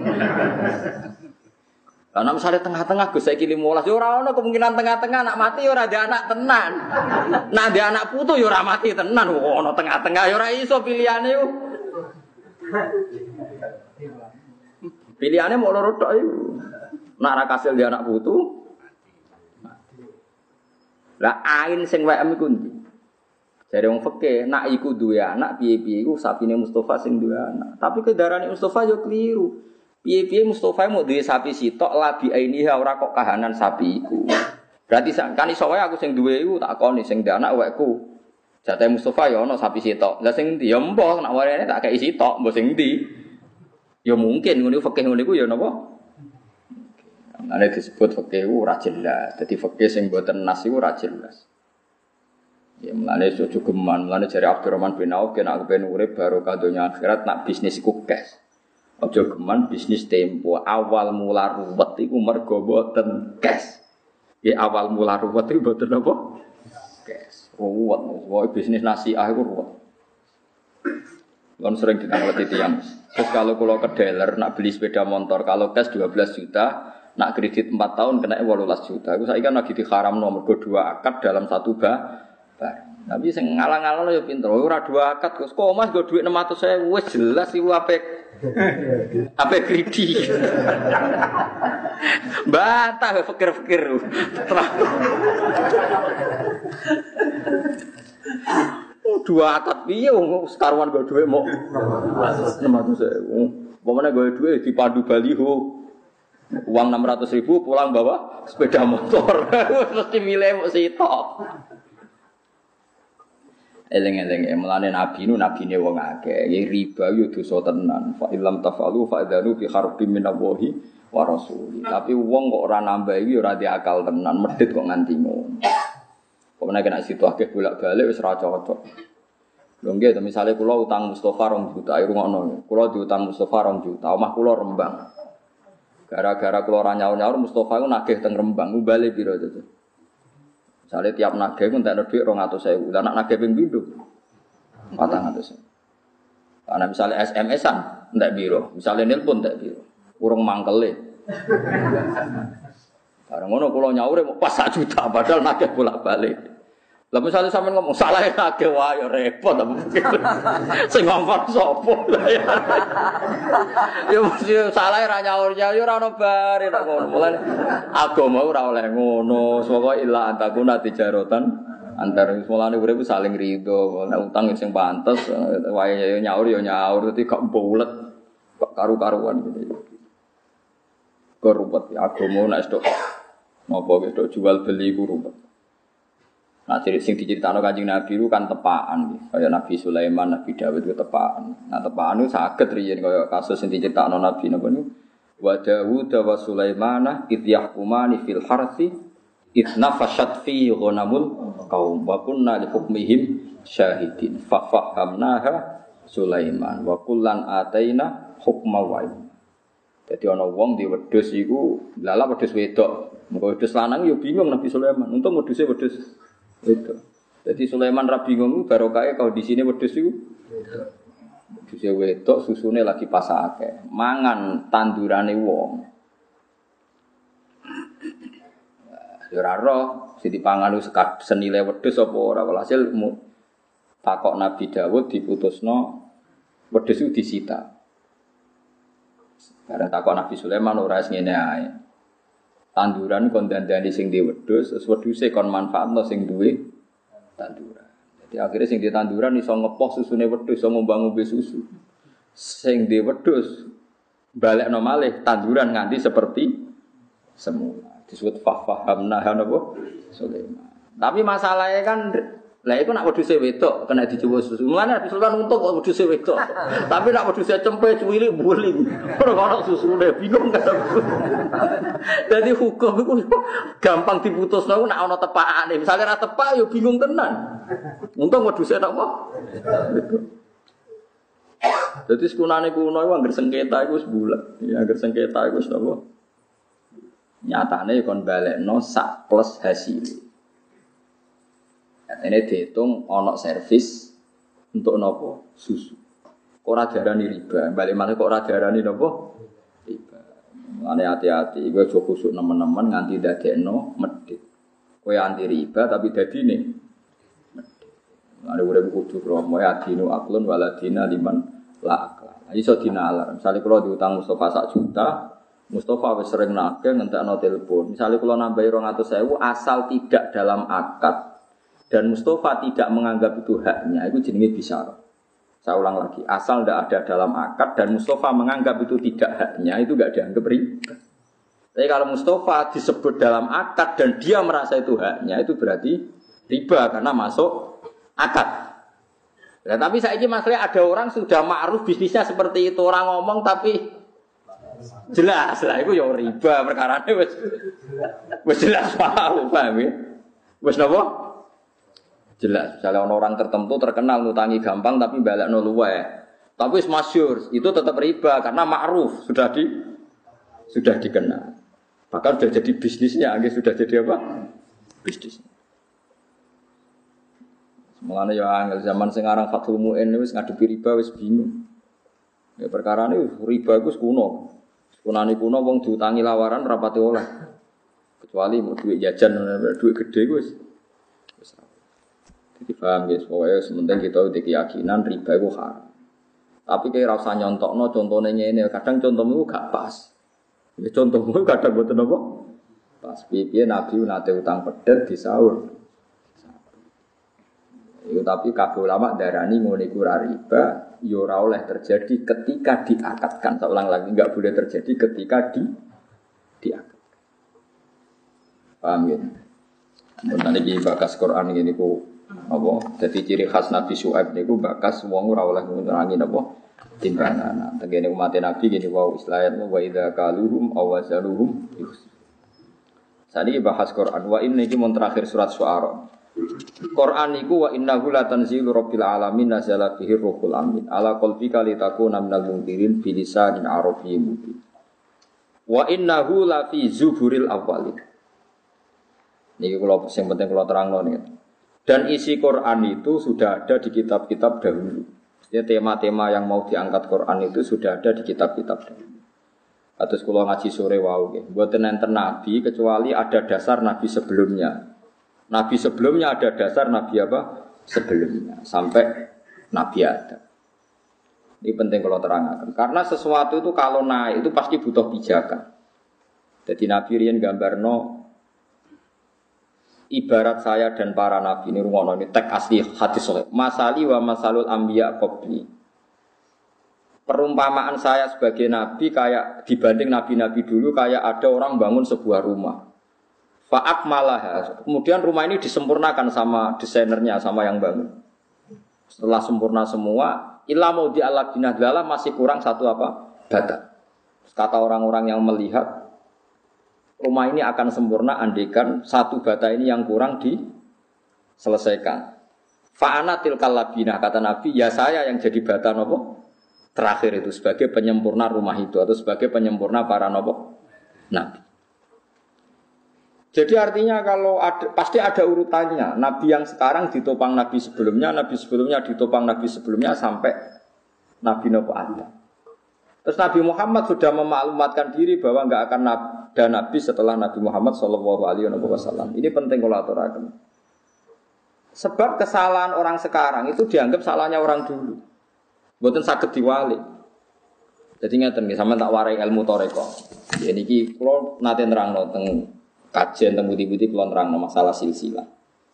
Karena misalnya tengah-tengah Gus saiki lima belas ya ora ono kemungkinan tengah-tengah nak mati ya ora ada anak tenan. Nah ada anak putu ya ora mati tenan. Oh, ono tengah-tengah ya ora iso pilihane yo. Pilihane mau loro tok iku. Nak ra kasil dia anak putu. Lah ain sing W M iku ndi? Jare wong fikih nak iku duwe anak piye-piye iku sapine Mustafa sing duwe anak. Tapi kedarane Mustafa yo keliru. Piye-piye Mustafa mau duwe sapi sitok labi ainiha ora kok kahanan sapi iku. Berarti kan iso wae aku sing duwe iku tak koni sing duwe anak wekku. Jatah Mustafa ya ana sapi sitok. Lah sing ndi ya mbah nak warene tak kei sitok, mbah sing ndi. Ya mungkin ngono fikih ngono iku ya napa? Ana disebut fikih ora jelas. Dadi fikih sing mboten nas iku ora jelas. Ya mulane ojo geman, mulane jare Abdurrahman bin Auf kena kepen urip barokah donya akhirat nak bisnis iku cash. Ojo geman bisnis tempo awal mula ruwet iku mergo mboten cash. Ya awal mula ruwet iku mboten apa? Ruwet, pokoknya bisnis nasiah itu ruwet. Kan sering ditanglet itu yang. Terus kalau kalau ke dealer nak beli sepeda motor, kalau cash dua belas juta, nak kredit empat tahun kena delapan belas juta. Aku saya kan lagi diharam nomor dua akad dalam satu bar. Tapi sing ngalang-alang ya pinter. Ora dua akad kok Mas go duit enam ratus ribu wis jelas iku apik. Apik kredi. Bantah fikir-fikir. Oh, dua akad piye wong sekaruan go dhuwit mok enam ratus ribu. Pemene go dhuwit dipandu baliho. Uang enam ratus ribu pulang bawa sepeda motor. Mesti milih mok sitok. Eleng-eleng mulane nabi nu nabine wong akeh. Ya riba yo dosa tenan. Fa illam tafalu fa adzanu fi harbin minallahi wa rasuli. Tapi wong kok ora nambah iki ora di akal tenan, medhit kok nganti ngono. Pemene kena situ akeh bolak-balik wis ora cocok. Lho nggih, misale kula utang Mustofa rong juta, ayo ngono. Kula diutang Mustofa rong juta, omah kula Rembang. Gara-gara kula ora nyaur-nyaur Mustofa iku nagih teng Rembang, ubale piro to? Misale tiap nagih ku entekno dhuwit dua ratus ribu. Lah nek nagih ping pindho empat ratus ribu. Ana misale S M S-an entek piro? Misale nelpon entek piro? Urung mangkele. Bareng ngono kula nyaure mau pas sak juta padahal nagih bolak-balik. Lah misale sampean ngomong salah nagih wae ya repot apa mungkin. Sing ngongkon sapa? Ya mesti salah ra nyaur-nyaur ya ora ono bare nek ngono. Mulane agama ora oleh ngono. Saka illa antakuna tijaratan antar mulane urip saling rido. Nek utang sing pantes wae nyaur ya nyaur dadi gak bulet. Kok karu-karuan gitu. Korupet agama nek stok napa wis tok jual beli ku ruwet. Nah, cerita sing diceritakno Kanjeng Nabi itu kan tepaan, kaya Nabi Sulaiman, Nabi Dawud itu tepaan. Nah, tepaan itu saged riyen kaya kasus sing diceritakno Nabi napa niku. Wa Dawud wa Sulaiman id yahkumani fil harthi id nafashat fi ghanamul qaum wa kunna li hukmihim syahidin fa fahamnaha Sulaiman wa kullan ataina hukma wa ilma. Dadi ana wong di wedhus iku lala wedhus wedok. Mengko wedhus lanang yo bingung Nabi Sulaiman. Untung wedhuse wedhus itu. Jadi Sulaiman ra bingung barokahe kalau di sini wedhus iku. Wedhus wedok susune lagi pasake. Mangan tandurane wong. Ya ora roh sing dipangan senile wedhus apa ora walhasil takok Nabi Dawud diputusno wedhus iku disita. Karena takok Nabi Sulaiman ora wis ngene ae. Tanduran kon dandani sing di wedhus, terus wedhuse kon manfaatno sing duwe tanduran. Jadi akhirnya sing di tanduran iso ngepoh susune wedhus, iso ngombang-ngombe susu. Sing di wedhus balekno malih tanduran nganti seperti semula. Disebut fahamna napa Sulaiman. Tapi masalahnya kan lah iku nak wedhuse wedok kena dicoba susu. Mulane Nabi Sulaiman untung kok wedhuse wedok. Tapi nak wedhuse cempe cuwili buling. Ora ono susune bingung kan. Dadi hukum iku gampang diputusno nek ana tepakane. Misale ra tepak ya bingung tenan. Untung wedhuse napa? Dadi sekunane kuno iku anggere sengketa iku wis bulat. Ya anggere sengketa iku wis napa? Nyatane kon balekno sak plus hasil. Ini dihitung onok servis untuk nopo susu. Kok ora diarani riba, balik mana kok ora diarani nopo riba. Ane hati-hati, gue coba khusuk nemen-nemen nganti dadekno medhit. Kowe anti riba tapi dadine medhit. Ane urip kudu kromo ya dinu aklun waladina liman la akla. Iso dinalar. Misale kula diutang Mustofa sak juta, Mustofa wis sering nagih ngentekno telepon. Misale kula nambahi dua ratus ribu asal tidak dalam akad dan Mustofa tidak menganggap itu haknya, itu jenenge bisyarah. Saya ulang lagi, asal tidak ada dalam akad dan Mustofa menganggap itu tidak haknya, itu tidak dianggap riba. Tapi kalau Mustofa disebut dalam akad dan dia merasa itu haknya, itu berarti riba karena masuk akad. Nah, tapi saya ini masalahnya ada orang sudah ma'ruf bisnisnya seperti itu, orang ngomong tapi jelas lah, itu ya riba perkara ini wis jelas paham, paham ya? Wis napa? Jelas, misalnya orang tertentu terkenal ngutangi gampang tapi balekno luwe. Tapi masyhur, itu tetap riba karena ma'ruf, sudah di sudah dikenal. Bahkan sudah jadi bisnisnya, sudah jadi apa? Bisnis. Mulane ya angel zaman sing aran Fathul Muin wis ngadepi riba wis bingung. Ya perkara ini riba iku kuno. Kunane kuno wong diutangi lawaran rapati oleh. Kecuali mau duit jajan duit gede wis. Wis. Jadi paham guys, pokoke sementing kita udah keyakinan riba iku haram. Tapi kayak rasa nyontokno contohnya ini, kadang contohmu gak pas. Ya contohmu kadang boten apa? Pas piye Nabi nate utang pedet di sahur. Itu tapi kabeh ulama darani ngene iku ora riba, ya ora oleh terjadi ketika diakatkan. Saya ulang lagi, enggak boleh terjadi ketika di diakatkan. Paham ya? Mun iki bakas Quran ngene iku apa? Dadi ciri khas Nabi Syuaib niku bakas wong ora oleh ngurangi napa timbangan. Tengene umat Nabi gini wa islayat wa idza kaluhum aw wazaluhum. Sadi bahas Quran wa inna iki mun terakhir surat Syuara. Quran iku wa innahu la tanzilu rabbil alamin nazala bihi ruhul amin ala qalbika litakuna minal mundirin bilisanin arabiyyin mubin. Wa innahu la fi zuburil awwalin. Niki kula sing penting kula terangno niki. Dan isi Quran itu sudah ada di kitab-kitab dahulu. Ya tema-tema yang mau diangkat Quran itu sudah ada di kitab-kitab dahulu. Atus kula ngaji sore wau nggih. Mboten enten nabi kecuali ada dasar nabi sebelumnya. Nabi sebelumnya ada dasar nabi apa? Sebelumnya sampai nabi Adam. Ini penting kalau terangkan. Karena sesuatu itu kalau naik itu pasti butuh pijakan. Jadi Nabi riyen gambarno ibarat saya dan para nabi ini rungono ini teks asli hadis sahih. Masali wa masalul anbiya qabli. Perumpamaan saya sebagai nabi kayak dibanding nabi-nabi dulu kayak ada orang bangun sebuah rumah. Fa'akmalaha. Kemudian rumah ini disempurnakan sama desainernya, sama yang bangun. Setelah sempurna semua, illa maudi ala binadlala masih kurang satu apa? Bata. Kata orang-orang yang melihat rumah ini akan sempurna andaikan satu bata ini yang kurang diselesaikan. Fa'ana tilkal labinah, kata Nabi, ya saya yang jadi bata nopo terakhir itu sebagai penyempurna rumah itu atau sebagai penyempurna para nopo nabi. Jadi artinya kalau ada, pasti ada urutannya. Nabi yang sekarang ditopang nabi sebelumnya, nabi sebelumnya ditopang nabi sebelumnya sampai Nabi Nabi Adam. Terus Nabi Muhammad sudah memaklumatkan diri bahwa enggak akan ada nabi setelah Nabi Muhammad Shallallahu Alaihi Wasallam. Ini penting kalau aturakan. Sebab kesalahan orang sekarang itu dianggap salahnya orang dulu. Bukan sakit diwali. Jadi ngeten nggih sampean tak warai ilmu toreko. Ya niki kula nate nerangno teng kajian teng budi-budi kula nerangno masalah silsilah.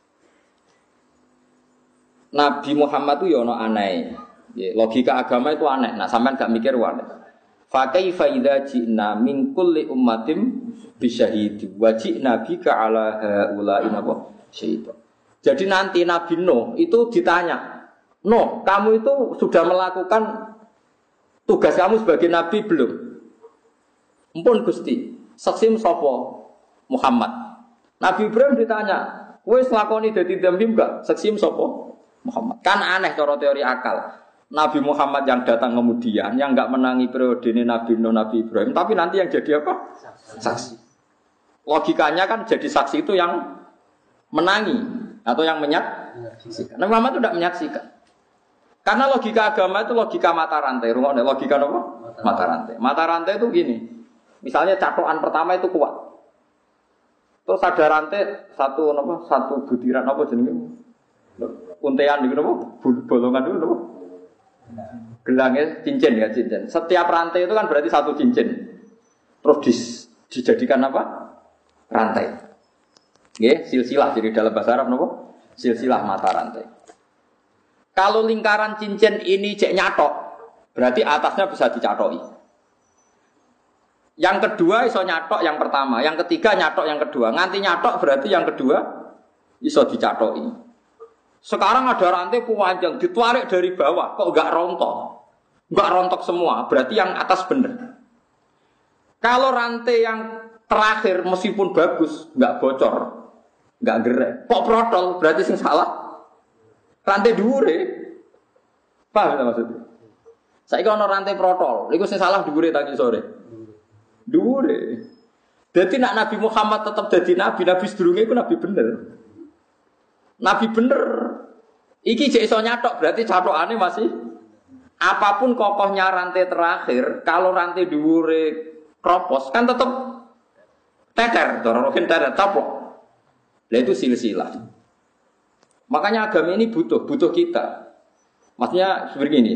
Nabi Muhammad itu ya ana aneh. Ya, logika agama itu aneh. Nah, sampean gak mikir wae. Fa kaifa idza ji'na min kulli ummatin bisyahidi wa ji'na bika ala haula'i napa syaitan. Jadi nanti Nabi Nuh itu ditanya, "Nuh, kamu itu sudah melakukan tugas kamu sebagai nabi belum?" Ampun Gusti, saksim sapa? Muhammad. Nabi Ibrahim ditanya, "Wis lakoni dadi dambi enggak?" Saksim sapa? Muhammad. Kan aneh cara teori akal. Nabi Muhammad yang datang kemudian yang enggak menangi periode ini Nabi Nuh, Nabi Ibrahim, tapi nanti yang jadi apa? Saksi. Logikanya kan jadi saksi itu yang menangi atau yang menyaksikan. Nabi Muhammad itu tidak menyaksikan. Karena logika agama itu logika mata rantai. Rungokne logika apa? Mata rantai. Mata rantai itu gini. Misalnya catokan pertama itu kuat. Terus ada rantai satu apa? Satu butiran apa jenenge? Untean niku napa? Bolongan niku napa? Gelangnya cincin ya cincin. Setiap rantai itu kan berarti satu cincin. Terus dis, dijadikan apa? Rantai. Nggih, silsilah jadi dalam bahasa Arab napa? Silsilah mata rantai. Kalau lingkaran cincin ini cek nyatok, berarti atasnya bisa dicatoki. Yang kedua iso nyatok yang pertama, yang ketiga nyatok yang kedua. Nganti nyatok berarti yang kedua iso dicatoki. Sekarang ada rantai panjang ditarik dari bawah, kok enggak rontok? Enggak rontok semua, berarti yang atas benar. Kalau rantai yang terakhir meskipun bagus, enggak bocor, enggak gerek, kok protol, berarti sing salah rantai dhuwure. Paham ta maksudnya? Saiki ana rantai protol, iku sing salah dhuwure tadi sore. Dhuwure. Dadi nek Nabi Muhammad tetap dadi nabi, nabi sedurunge iku nabi bener. Nabi bener Iki jek iso nyatok berarti catokane masih apapun kokohnya rantai terakhir, kalau rantai dhuwure kropos kan tetep teter, dorokin teter taplok. Lah itu silsilah. Makanya agama ini butuh, butuh kita. Maksudnya seperti ini.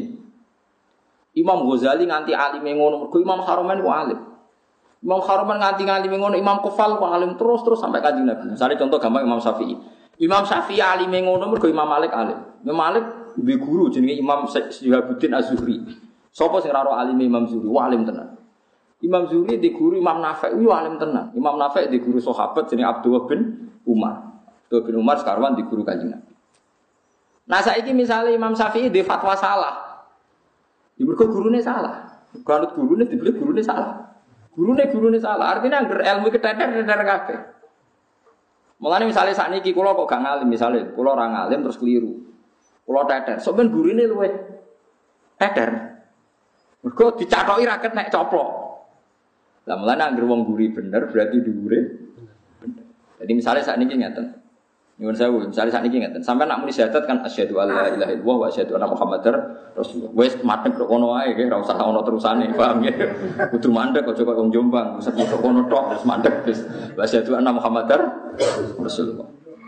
Imam Ghazali nganti alim ngono, mergo Imam Haramain ku alim. Imam Haramain nganti alim ngono, Imam Kufal ku alim terus-terus sampai Kanjeng Nabi. Misalnya contoh gampang Imam Syafi'i. Imam Syafi'i alim ngono mergo Imam Malik alim. Imam Malik duwe guru jenenge Imam Syihabuddin Az-Zuhri. Sapa sing ora alim Imam Zuhri? Wah alim tenan. Imam Zuhri di guru Imam Nafi' yo alim tenan. Imam Nafi' di guru sahabat jenenge Abdullah bin Umar. Abdullah bin Umar sekarang di guru Kanjeng Nabi. Nah saiki misalnya Imam Syafi'i di fatwa salah. Ya mergo gurune salah. Kalau gurune dibeli gurune salah. Gurune gurune salah. Artinya angger ilmu keteter-teter kabeh. Mulane misalnya sakniki kula kok gak ngalim misalnya, kula ora ngalim terus keliru. Kula teter, sok ben gurine luwe teter. Mergo dicathoki ra nek coplok. Lah mulane angger wong guri bener berarti dhuwure bener. Jadi misalnya sakniki ngeten. Nyuwun sewu, misalnya sakniki ngeten, sampeyan nak muni syahadat kan asyhadu alla ilaha illallah wa asyhadu anna muhammadar rasulullah. Wis madhep kok ngono wae nggih, ora usah ono terusane, paham nggih. Kudu mandek aja kok wong Jombang, sepi kok ngono tok terus mandek wis. Wa asyhadu anna muhammadar rasulullah.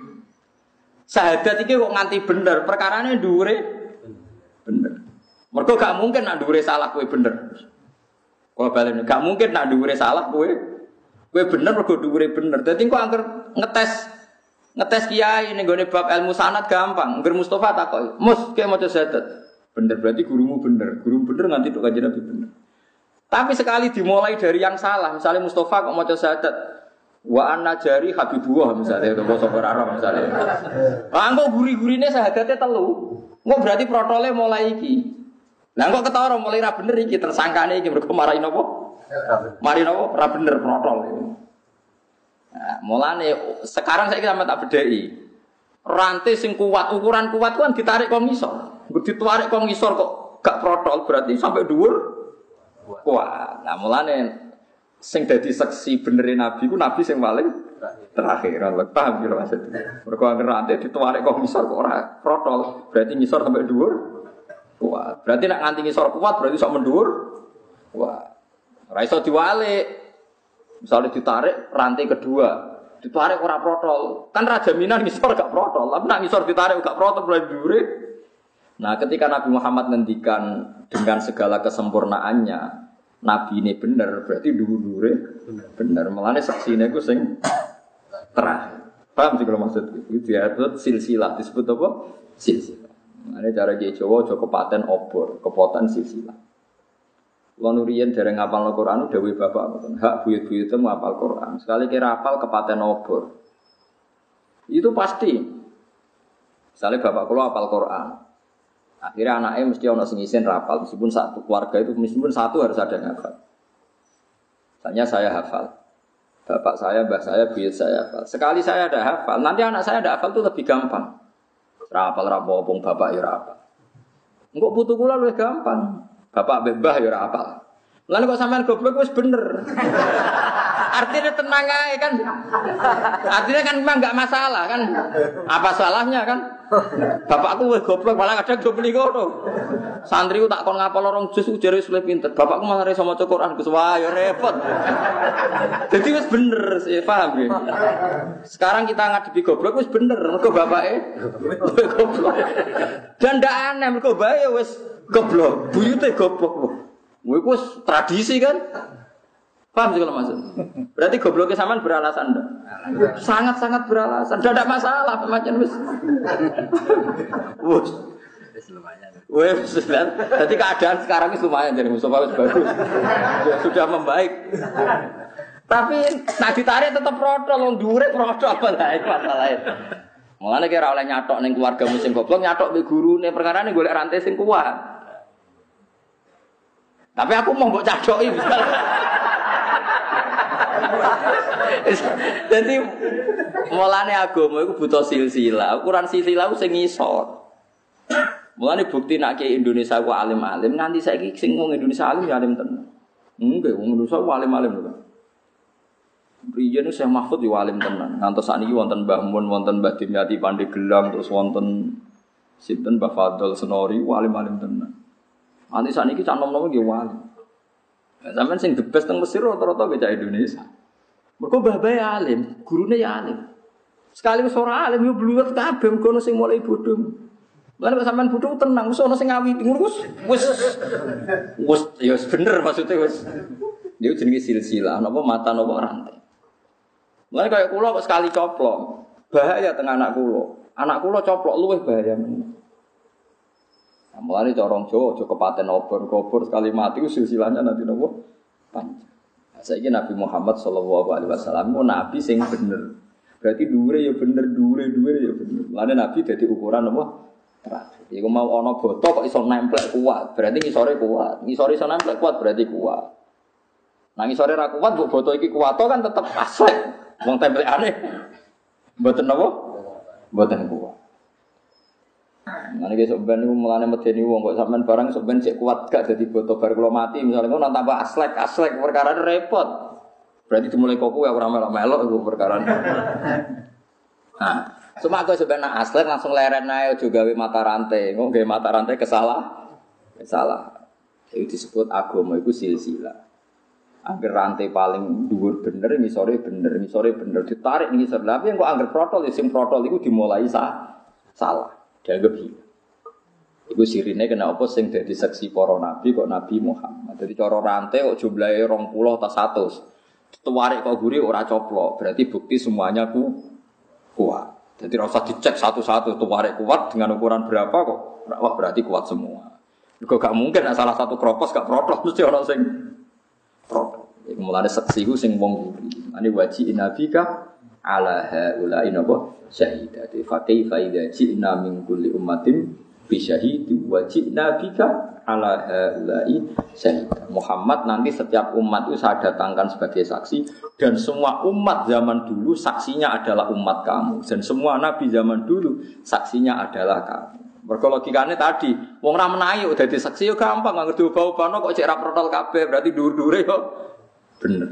Syahadat iki kok nganti bener, perkarane dhuwure bener. Mergo gak mungkin nak dhuwure salah kowe bener. Kalau balen gak mungkin nak dhuwure salah kowe kowe bener mergo dhuwure bener. Dadi kok angker ngetes ngetes kiai ning gone bab ilmu sanad gampang. Ngger Mustofa takoki, "Mus, kiye maca syahadat." Bener berarti gurumu bener. Guru bener nganti tok Kanjeng Nabi bener. Tapi sekali dimulai dari yang salah, misalnya Mustofa kok maca syahadat, wa anna jari habibullah misalnya, atau basa Arab misalnya. Lah engko guri-gurine syahadatnya telu. Engko berarti protole mulai iki. Lah engko ketara mulai ra bener iki tersangkane iki mergo marahi napa? Mari napa? Ra bener protol iki. Nah, mulane sekarang saya kita tak bedheki. Rantai sing kuat, ukuran kuat kan ditarik kok ngisor. Nggo ditarik kok ngisor kok gak protol berarti sampai dhuwur kuat. Nah, mulane sing dadi seksi benere Nabi ku Nabi sing paling terakhir. Ora paham kira maksudnya. Mergo angger rantai ditarik kok ngisor kok ora protol, berarti ngisor sampai dhuwur kuat. Berarti nek nganti ngisor kuat berarti sok mendhuwur kuat. Ora iso diwalik. Misalnya ditarik rantai kedua, ditarik ora protol, kan raja minan ngisor gak protol, tapi nak ngisor ditarik gak protol berarti dure. Nah, ketika Nabi Muhammad ngendikan dengan segala kesempurnaannya, Nabi ini bener, berarti dure bener. Melane saksine ku sing terakhir. Paham sih kalau maksud itu? Disebut silsilah, disebut apa? Silsilah. Ini cara Kiai Jawa, Jawa kepaten obor, kepotan silsilah. Wanurian dereng ngapal Al-Qur'an dawuh bapak mboten hak buyut-buyute ngapal Qur'an. Sekali kira hafal kepaten obor. Itu pasti. Misalnya bapak kula hafal Qur'an. Akhirnya anaknya mesti ana sing isin hafal meskipun satu keluarga itu meskipun satu harus ada yang hafal. Misalnya saya hafal. Bapak saya, mbah saya, buyut saya hafal. Sekali saya ada hafal, nanti anak saya ada hafal itu lebih gampang. Ra hafal ra apa-apa bapak ya ora hafal. Engko putu kula luwih gampang. Bapak bebah ya ora apal. Lan kok sampean goblok wis bener. Artinya tenang ae kan. Artinya kan memang enggak masalah kan. Apa salahnya kan? Bapakku wis goblok malah kadang do muni ngono. Santriku tak kon ngapal orang jus ujare wis luwih pinter. Bapakku malah iso maca Quran Gus wah ya repot. Jadi wis bener, paham ya? Sekarang kita ngadepi goblok wis bener mergo bapake goblok. Dan ndak aneh mergo bae wis goblok, buyute goblok. Kuwi ku tradisi kan? Paham sih kalau maksud? Berarti gobloknya sampean beralasan enggak? Sangat-sangat beralasan. Enggak ada masalah macam wis. Wes. Wis lumayan. Wes, jadi keadaan sekarang ini lumayan jadi Mustafa wis bagus. Sudah membaik. Tapi nak ditarik tetap protol, wong dhuwure protol apa lae masalahe. Mulane kira oleh nyatok ning keluarga musim goblok, nyatok mbek gurune perkara ne golek rantai sing kuat. Tapi aku mau mbok cadoki misalnya. Jadi mulane agama iku butuh silsilah. Ukuran silsilah ku sing ngisor. Mulane bukti nek Indonesia ku alim-alim nganti saiki sing wong Indonesia alim ya alim tenan. Nggih, wong Indonesia ku alim-alim lho. Riyen Syekh Mahfud yo alim tenan. Ngantos sakniki wonten Mbah Mun, wonten Mbah Dimyati Pandeglang, terus wonten Sinten Mbah Fadl Senori alim-alim tenan. Nanti sakniki cah nom-nom nggih wali. Sampeyan sing the best teng Mesir rata-rata bocah Indonesia. Mergo mbah bae alim, gurune ya alim. Sekali wis ora alim yo bluwet kabeh mergo ono sing mulai bodho. Lan kok sampean bodho tenang, wis ono sing ngawiti ngono wis wis wis ya bener maksudnya wis. Niku jenenge silsilah, napa mata napa rantai. Mulane kaya kula kok sekali coplok, bahaya teng anak kula. Anak kula coplok luwih bahaya men. Nah, mulane cara Jawa aja kepaten obor-obor sekali mati ku silsilahnya nanti napa panjang. Nah, saiki Nabi Muhammad sallallahu alaihi wasallam ku nabi sing bener. Berarti dhuwure ya bener, dhuwure-dhuwure ya bener. Mulane nabi dadi ukuran apa? Terakhir. Iku mau ana boto kok iso nemplek kuat, berarti ngisore kuat. Ngisore iso nemplek kuat berarti kuat. Nah ngisore ra kuat mbok boto iki kuat kan tetep aslek. Wong templekane mboten napa? Mboten kuat. Mane ge sok ben niku mulane medeni wong kok sampean barang sok ben sik kuat gak dadi boto bar kula mati misale ngono tambah aslek aslek perkara repot. Berarti dimulai kok kowe ora melok-melok iku perkara. Nah, cuma aku sebenarnya aslek langsung leren ae aja gawe mata rantai. Engko gawe mata rantai kesalah. Salah. Itu disebut agama iku silsilah. Angger rantai paling dhuwur bener ngisore bener, ngisore bener ditarik ngisor. Tapi engko angger protol sing protol iku dimulai sah, salah. Dianggap hilang. Iku sirine kena apa sing dadi saksi para nabi kok Nabi Muhammad. Dadi cara rantai kok jumlahe rong puluh ta seratus. Tuwarik kok guri ora coplok, berarti bukti semuanya ku kuat. Jadi ora usah dicek satu-satu tuwarik kuat dengan ukuran berapa kok. Wah berarti kuat semua. Kok gak mungkin salah satu kropos gak protol mesti ana sing protol. Iku mulane saksi ku sing wong guri. Ane waji nabika ala haula inaba syahidati fa kaifa idza ji'na min kulli ummatin bi syahidi wa ji'na bika ala haula'i syahid. Muhammad nanti setiap umat itu saya datangkan sebagai saksi dan semua umat zaman dulu saksinya adalah umat kamu dan semua nabi zaman dulu saksinya adalah kamu. Mergo logikane tadi wong ra menahi kok dadi saksi yo gampang nggak ngerti ubah-ubahno kok cek ra protol kabeh berarti dhuwur-dhuwure yo bener.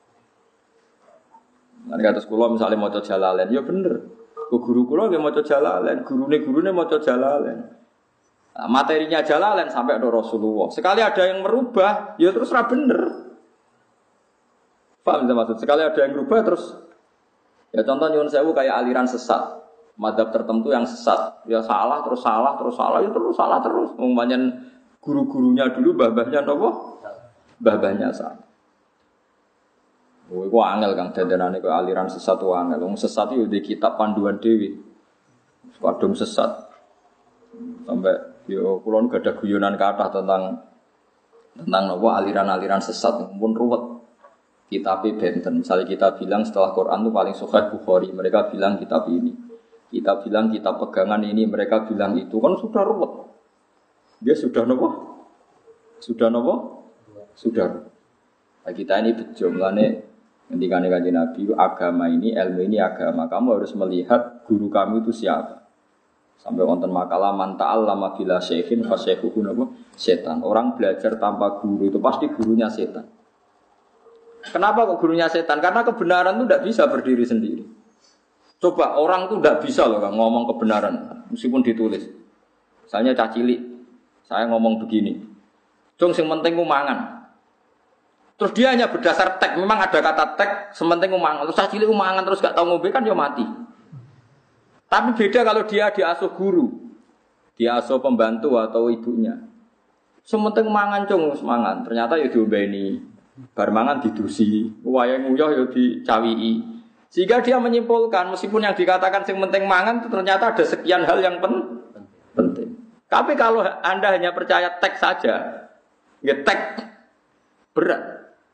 Nanti kata sekolah misalnya mau coba Jalalain, ya bener. Guru kula nggih maca Jalalain, gurune-gurune maca Jalalain. Nah, materinya Jalalain sampai ada Rasulullah. Sekali ada yang merubah, ya terus ra bener. Paham ta maksud? Sekali ada yang merubah terus ya contoh nyuwun sewu kayak aliran sesat. Madzhab tertentu yang sesat, ya salah terus salah terus salah ya terus salah terus. Umpamanya guru-gurunya dulu mbah-mbahnya napa? Mbah-mbahnya salah. Oh, iku angel kang dandanane kok aliran sesat wae angel. Wong sesat iki di kitab panduan dhewe. Kadung sesat. Sampai yo kula nu gadah guyonan kathah tentang tentang napa aliran-aliran sesat pun ruwet. Kitabe benten. Misalnya kita bilang setelah Quran itu paling sahih Bukhari, mereka bilang kitab ini. Kita bilang kitab pegangan ini, mereka bilang itu kan sudah ruwet. Dia sudah napa? Sudah napa? Sudah ruwet. Nah, kita ini bejo mlane ngendikane Kanjeng Nabi, agama ini, ilmu ini agama. Kamu harus melihat guru kamu itu siapa. Sampai wonten makalah man ta'allama bila syekhin fa syekhuhu napa? Setan. Orang belajar tanpa guru itu pasti gurunya setan. Kenapa kok gurunya setan? Karena kebenaran itu tidak bisa berdiri sendiri. Coba orang itu tidak bisa loh kan, ngomong kebenaran meskipun ditulis. Misalnya cah cilik, saya ngomong begini. Jong sing penting ku mangan. Terus dia hanya berdasar teks, memang ada kata teks, sementing umangan. Terus cilik umangan terus gak tahu ngombe kan dia mati. Tapi beda kalau dia diasuh guru, diasuh pembantu atau ibunya. Sementing umangan cung semangan, ternyata ya diombeni, bar mangan didusi, wayang nguyah ya dicawii. Sehingga dia menyimpulkan meskipun yang dikatakan sing penting mangan ternyata ada sekian hal yang pen penting. Tapi kalau Anda hanya percaya teks saja, ya teks berat.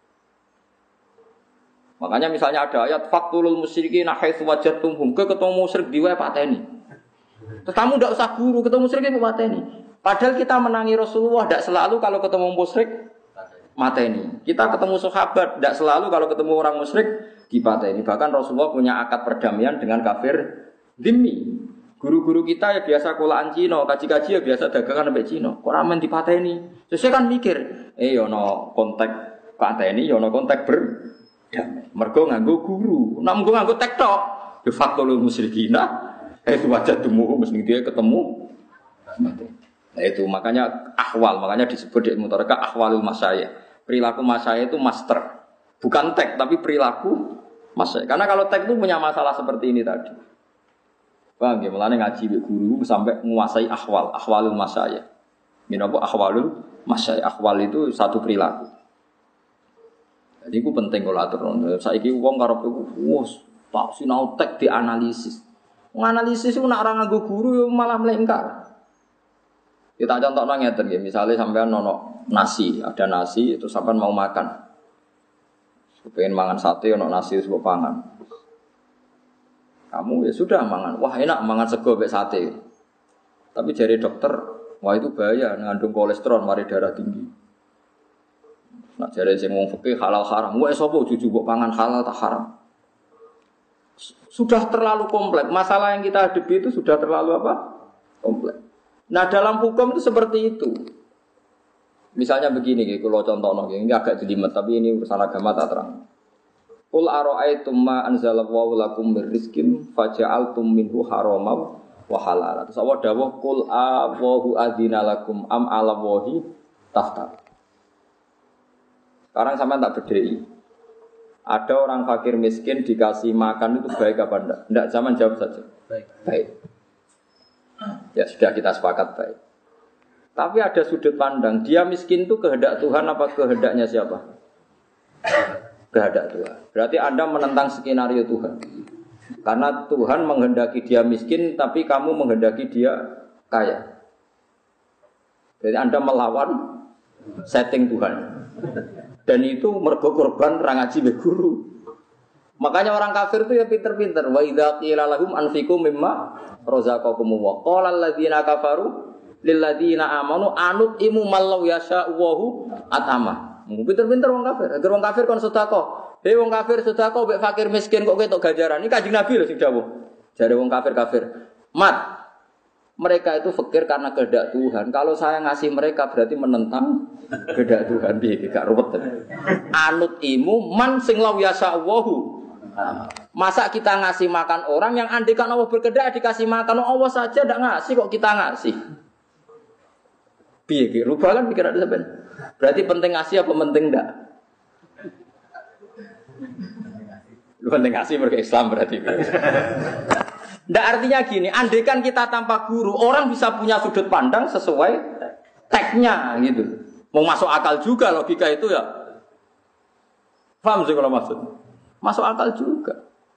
Makanya misalnya ada ayat faqtulul musyrikin haitsu wajadtumhum, ke ketemu musyrik di wae pateni. Terus kamu ndak usah guru, ketemu musyrik itu pateni. Padahal kita menangi Rasulullah ndak selalu kalau ketemu musyrik mateni. Kita ketemu sahabat ndak selalu kalau ketemu orang musyrik dipateni. Bahkan Rasulullah punya akad perdamaian dengan kafir dhimmi. Guru-guru kita ya biasa kulaan Cina, kaji-kaji ya biasa dagangan sampai Cina. Kok ramen dipateni? Terus saya kan mikir, eh yo no kontak pateni, yo no kontak ber damai. Mergo nganggo guru. Nek nganggo nganggo tek tok, de facto lu musyrikina, eh wajah temu mesti dia ketemu Nah itu makanya ahwal, makanya disebut di Mutaraka ahwalul masyayikh. Perilaku masyayikh itu master. Bukan tek tapi perilaku masyayikh. Karena kalau tek itu punya masalah seperti ini tadi. Paham ya? Mulane ngaji be guru sampai menguasai ahwal, ahwalul masyayikh. Ini apa ahwalul masyayikh? Ahwal itu satu perilaku. Jadi itu penting kalau atur. Saiki wong karo wis tak sinau tek dianalisis. Menganalisis itu nak orang nganggo guru malah melengkar. Kita contoh ngeten ya, misalnya sampean nono nasi, ada nasi itu sampean mau makan. Pengen mangan sate ono nasi wis pangan. Kamu ya sudah mangan. Wah, enak mangan sego mek sate. Tapi jari dokter, wah itu bahaya ngandung kolesterol, mari darah tinggi. Nak jari sing wong fikih halal haram. Wah, sapa juju kok pangan halal tak haram. Sudah terlalu kompleks. Masalah yang kita hadapi itu sudah terlalu apa? Kompleks. Nah dalam hukum itu seperti itu. Misalnya begini, kalau contoh ini agak jelimet, tapi ini urusan agama tak terang. Qul ara'aytum ma anzalallahu lakum min rizqin faja'altum minhu haraman wa halala. Terus Allah dawuh qul Allahu adzina lakum am 'ala wahi taftar. Sekarang sampean tak bedhei. Ada orang fakir miskin dikasih makan itu baik apa enggak? Enggak, zaman jawab saja. Baik. Baik. Ya sudah kita sepakat baik. Tapi ada sudut pandang, dia miskin itu kehendak Tuhan apa kehendaknya siapa? Kehendak Tuhan. Berarti Anda menentang skenario Tuhan. Karena Tuhan menghendaki dia miskin, tapi kamu menghendaki dia kaya. Jadi Anda melawan setting Tuhan. Dan itu mergo korban ra ngaji be guru. Makanya orang kafir itu ya pinter-pinter. Wa idza qila lahum anfiqu mimma razaqakum wa qala alladziina kafaru lil ladziina amanu anut imu mallau yasha'u atama. Pinter-pinter wong kafir. Agar wong kafir kon sedekah. Hei wong kafir sedekah mbek fakir miskin kok ketok ganjaran. Ini Kanjeng Nabi lho sing dawuh. Jare wong kafir-kafir. Mat. Mereka itu fakir karena kehendak Tuhan. Kalau saya ngasih mereka berarti menentang kehendak Tuhan. Piye gak ruwet. Anut imu man sing law yasha'u. Masa kita ngasih makan orang yang andikan Allah berkehendak dikasih makan Allah saja tidak ngasih kok kita ngasih. Piye ki rubah kan pikiran sampean. Berarti penting ngasih apa penting enggak? Lu penting ngasih mereka Islam berarti. Enggak artinya gini, andikan kita tanpa guru orang bisa punya sudut pandang sesuai teknya gitu. Mau masuk akal juga logika itu ya. Paham sih kalau maksud? Masuk akal juga.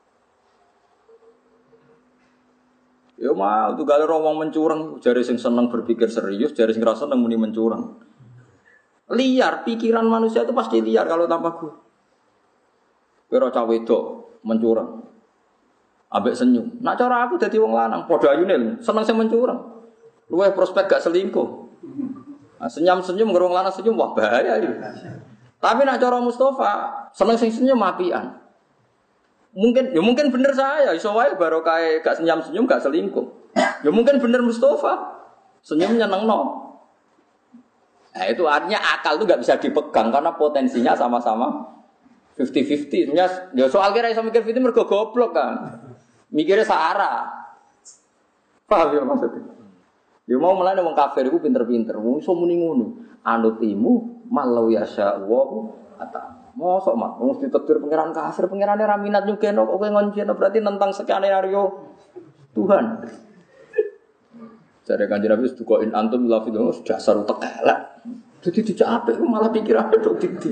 Ya mau tuh gale wong mencurang, jare sing seneng berpikir serius, jare sing rasa seneng muni mencurang. Liar, pikiran manusia itu pasti liar kalau tanpa guru. Kira cah wedok mencurang. Ambek senyum. Nak cara aku dadi wong lanang, padha ayune seneng sing mencurang. Luwih prospek gak selingkuh. Nah, senyum-senyum ngerong lanang senyum wah bahaya iki. Tapi nak cara Mustafa, seneng sing senyum apian. Mungkin, ya mungkin bener saya, iso wae barokah gak senyum-senyum gak selingkuh. Ya mungkin bener Mustafa, senyumnya nyenengno. Nah itu artinya akal itu gak bisa dipegang karena potensinya sama-sama fifty fifty. Sebenarnya ya soal kira iso mikir fifty mergo goblok kan. Mikirnya searah. Paham ya maksudnya? Ya mau melane wong kafir iku pinter-pinter, wong iso muni ngono. Anut imu malau yasya wa ata. Mosok mak, wong ditetir pangeran kafir, pangerane ra minat nyugeno kok kowe ngonjeno berarti nentang skenario Tuhan. Jare Kanjeng Nabi dukoin antum la fi dasar utek elek. Dadi dijak apik malah pikirane tok didi.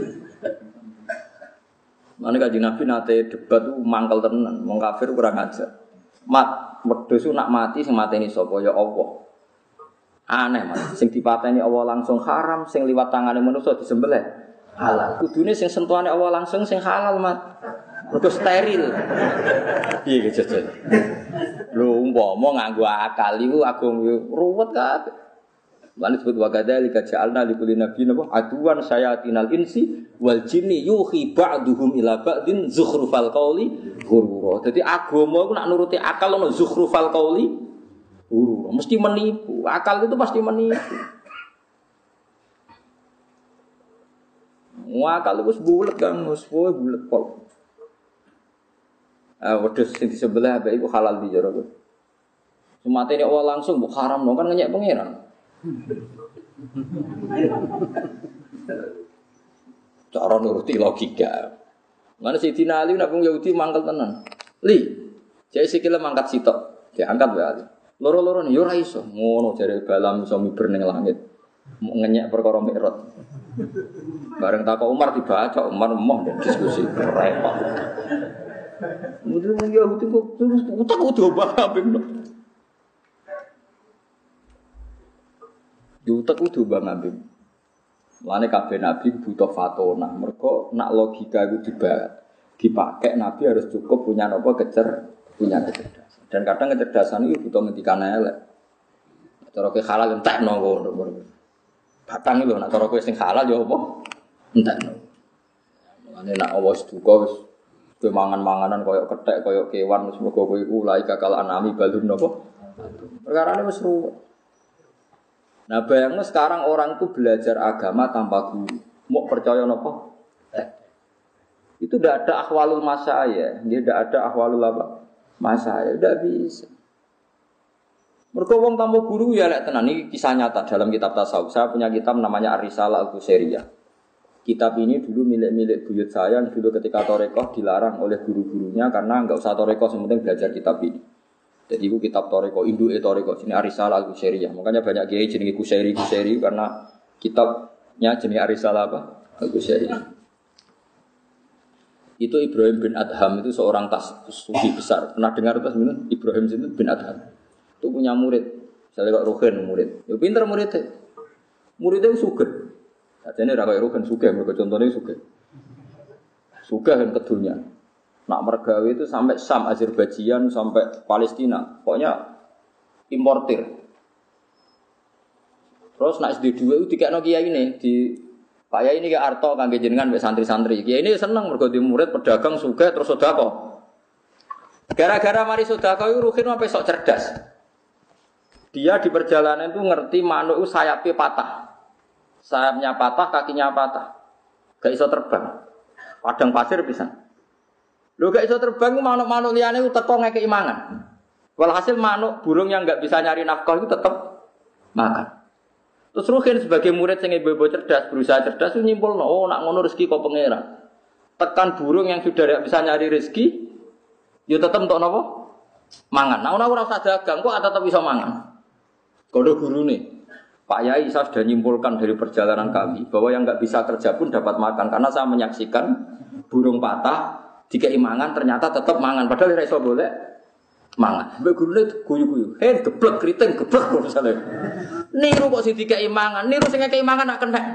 Mane Kanjeng Nabi nate debat ku mangkel tenan, wong kafir kurang ajar. Mat, wedhus nak mati sing mateni sapa ya Allah. Aneh Mas, sing dipateni Allah langsung haram, sing liwat tangane manusa disembelih halal. Kudune sing sentuhane Allah langsung sing halal, Mat. Mergo steril. Piye iki jajal? Lho umpama nganggo akal iku agung ruwet kabeh. Lan disebut wa kadzalika ja'alna likulli nabiyyin aduwan sayatinal insi wal jinni yuhi ba'duhum ila ba'din zukhrufal qawli ghurura. Dadi agama iku nak nuruti akal ono zukhrufal qawli ghurura. Mesti menipu. Akal itu pasti menipu. Wah kalau wis bulet kan, wis bulet pol. Ah wedhus sing disebelah bae iku halal di jero. Sumatene Allah langsung mbok haram kan ngenyek pangeran. Cara nuruti logika. Mana Sidina Ali nak wong Yahudi mangkel tenan. Li, jek sikile mangkat sitok, diangkat wae Ali. Loro-loro yo ora iso. Ngono jare balam iso miber ning langit. Ngenyek perkara mikrot. Bareng takok Umar dibaca, Umar emoh diskusi repot. Mudun wong Yahudi kok utek kudu bang Yutek kudu bang ambing. Mulane kabeh nabi butuh fatona. Mergo nak logika iku dibat, dipakai nabi harus cukup punya napa kecer, punya kecerdasan. Dan kadang kecerdasan itu butuh ngendikan elek. Cara ke halal entekno ngono. Batang lho nak cara kowe sing halal ya apa? Entekno. Mulane nak awas duka wis kowe mangan-manganan koyo kethek, koyo kewan wis mergo kowe iku laik kakal anami balum napa? Perkarane wis ruwet. Nah bayangnya sekarang orang itu belajar agama tanpa guru, mau percaya apa? Eh. Itu tidak ada ahwalul masyayikh, dia tidak ada ahwalul apa? Masyayikh, tidak bisa. Mergo wong tanpa guru ya lek tenan iki kisah nyata dalam kitab tasawuf. Saya punya kitab namanya Ar-Risalah Al-Qusairiyah. Kitab ini dulu milik-milik buyut saya yang dulu ketika Torekoh dilarang oleh guru-gurunya karena enggak usah Torekoh, yang penting belajar kitab ini. Jadi itu kitab Toreko, Induke Toreko, sini Ar-Risalah Al-Qusairiyah. Makanya banyak kiai jenenge Qusairi Qusairi karena kitabnya jenis Ar-Risalah apa? Al-Qusairiyah. Itu Ibrahim bin Adham itu seorang tas sufi besar. Pernah dengar tas minum Ibrahim bin Adham? Itu punya murid. Saya kok Ruhin murid. Ya pinter muridnya. Muridnya sugih. Sajane ra kaya Ruhin sugih, mergo contone sugih. Sugih kan kedunya. Nak mergawe itu sampai Sam, Azerbaijan, sampai Palestina. Pokoknya importir. Terus nak S D dua itu dikekno kiai ini di Pak Yai ini ke Arto kangge jenengan mbek santri-santri. Kiai ini seneng mergo di murid pedagang sugih terus sedekah. Gara-gara mari sedekah itu Ruhin sampai sok cerdas. Dia di perjalanan itu ngerti manuk itu sayapnya patah. Sayapnya patah, kakinya patah. Gak iso terbang. Padang pasir bisa. Lho gak iso terbang manuk-manuk liyane ku teko ngekeki mangan. Walhasil manuk burung yang enggak bisa nyari nafkah itu tetap makan. Terus Ruhin sebagai murid sing ibu-ibu cerdas, berusaha cerdas itu nyimpulno, oh nak ngono rezeki kok pangeran. Tekan burung yang sudah tidak bisa nyari rezeki, ya tetep entuk napa? Mangan. Nah ora usah dagang kok tetep iso mangan. Kodo gurune. Pak Yai saya sudah nyimpulkan dari perjalanan kami bahwa yang enggak bisa kerja pun dapat makan karena saya menyaksikan burung patah dikei mangan ternyata tetap mangan padahal ora iso boleh mangan. Mbek gurune guyu-guyu. Heh geblek kriting geblek misale. Niru kok sing dikei mangan, niru sing ngekei mangan nak kena.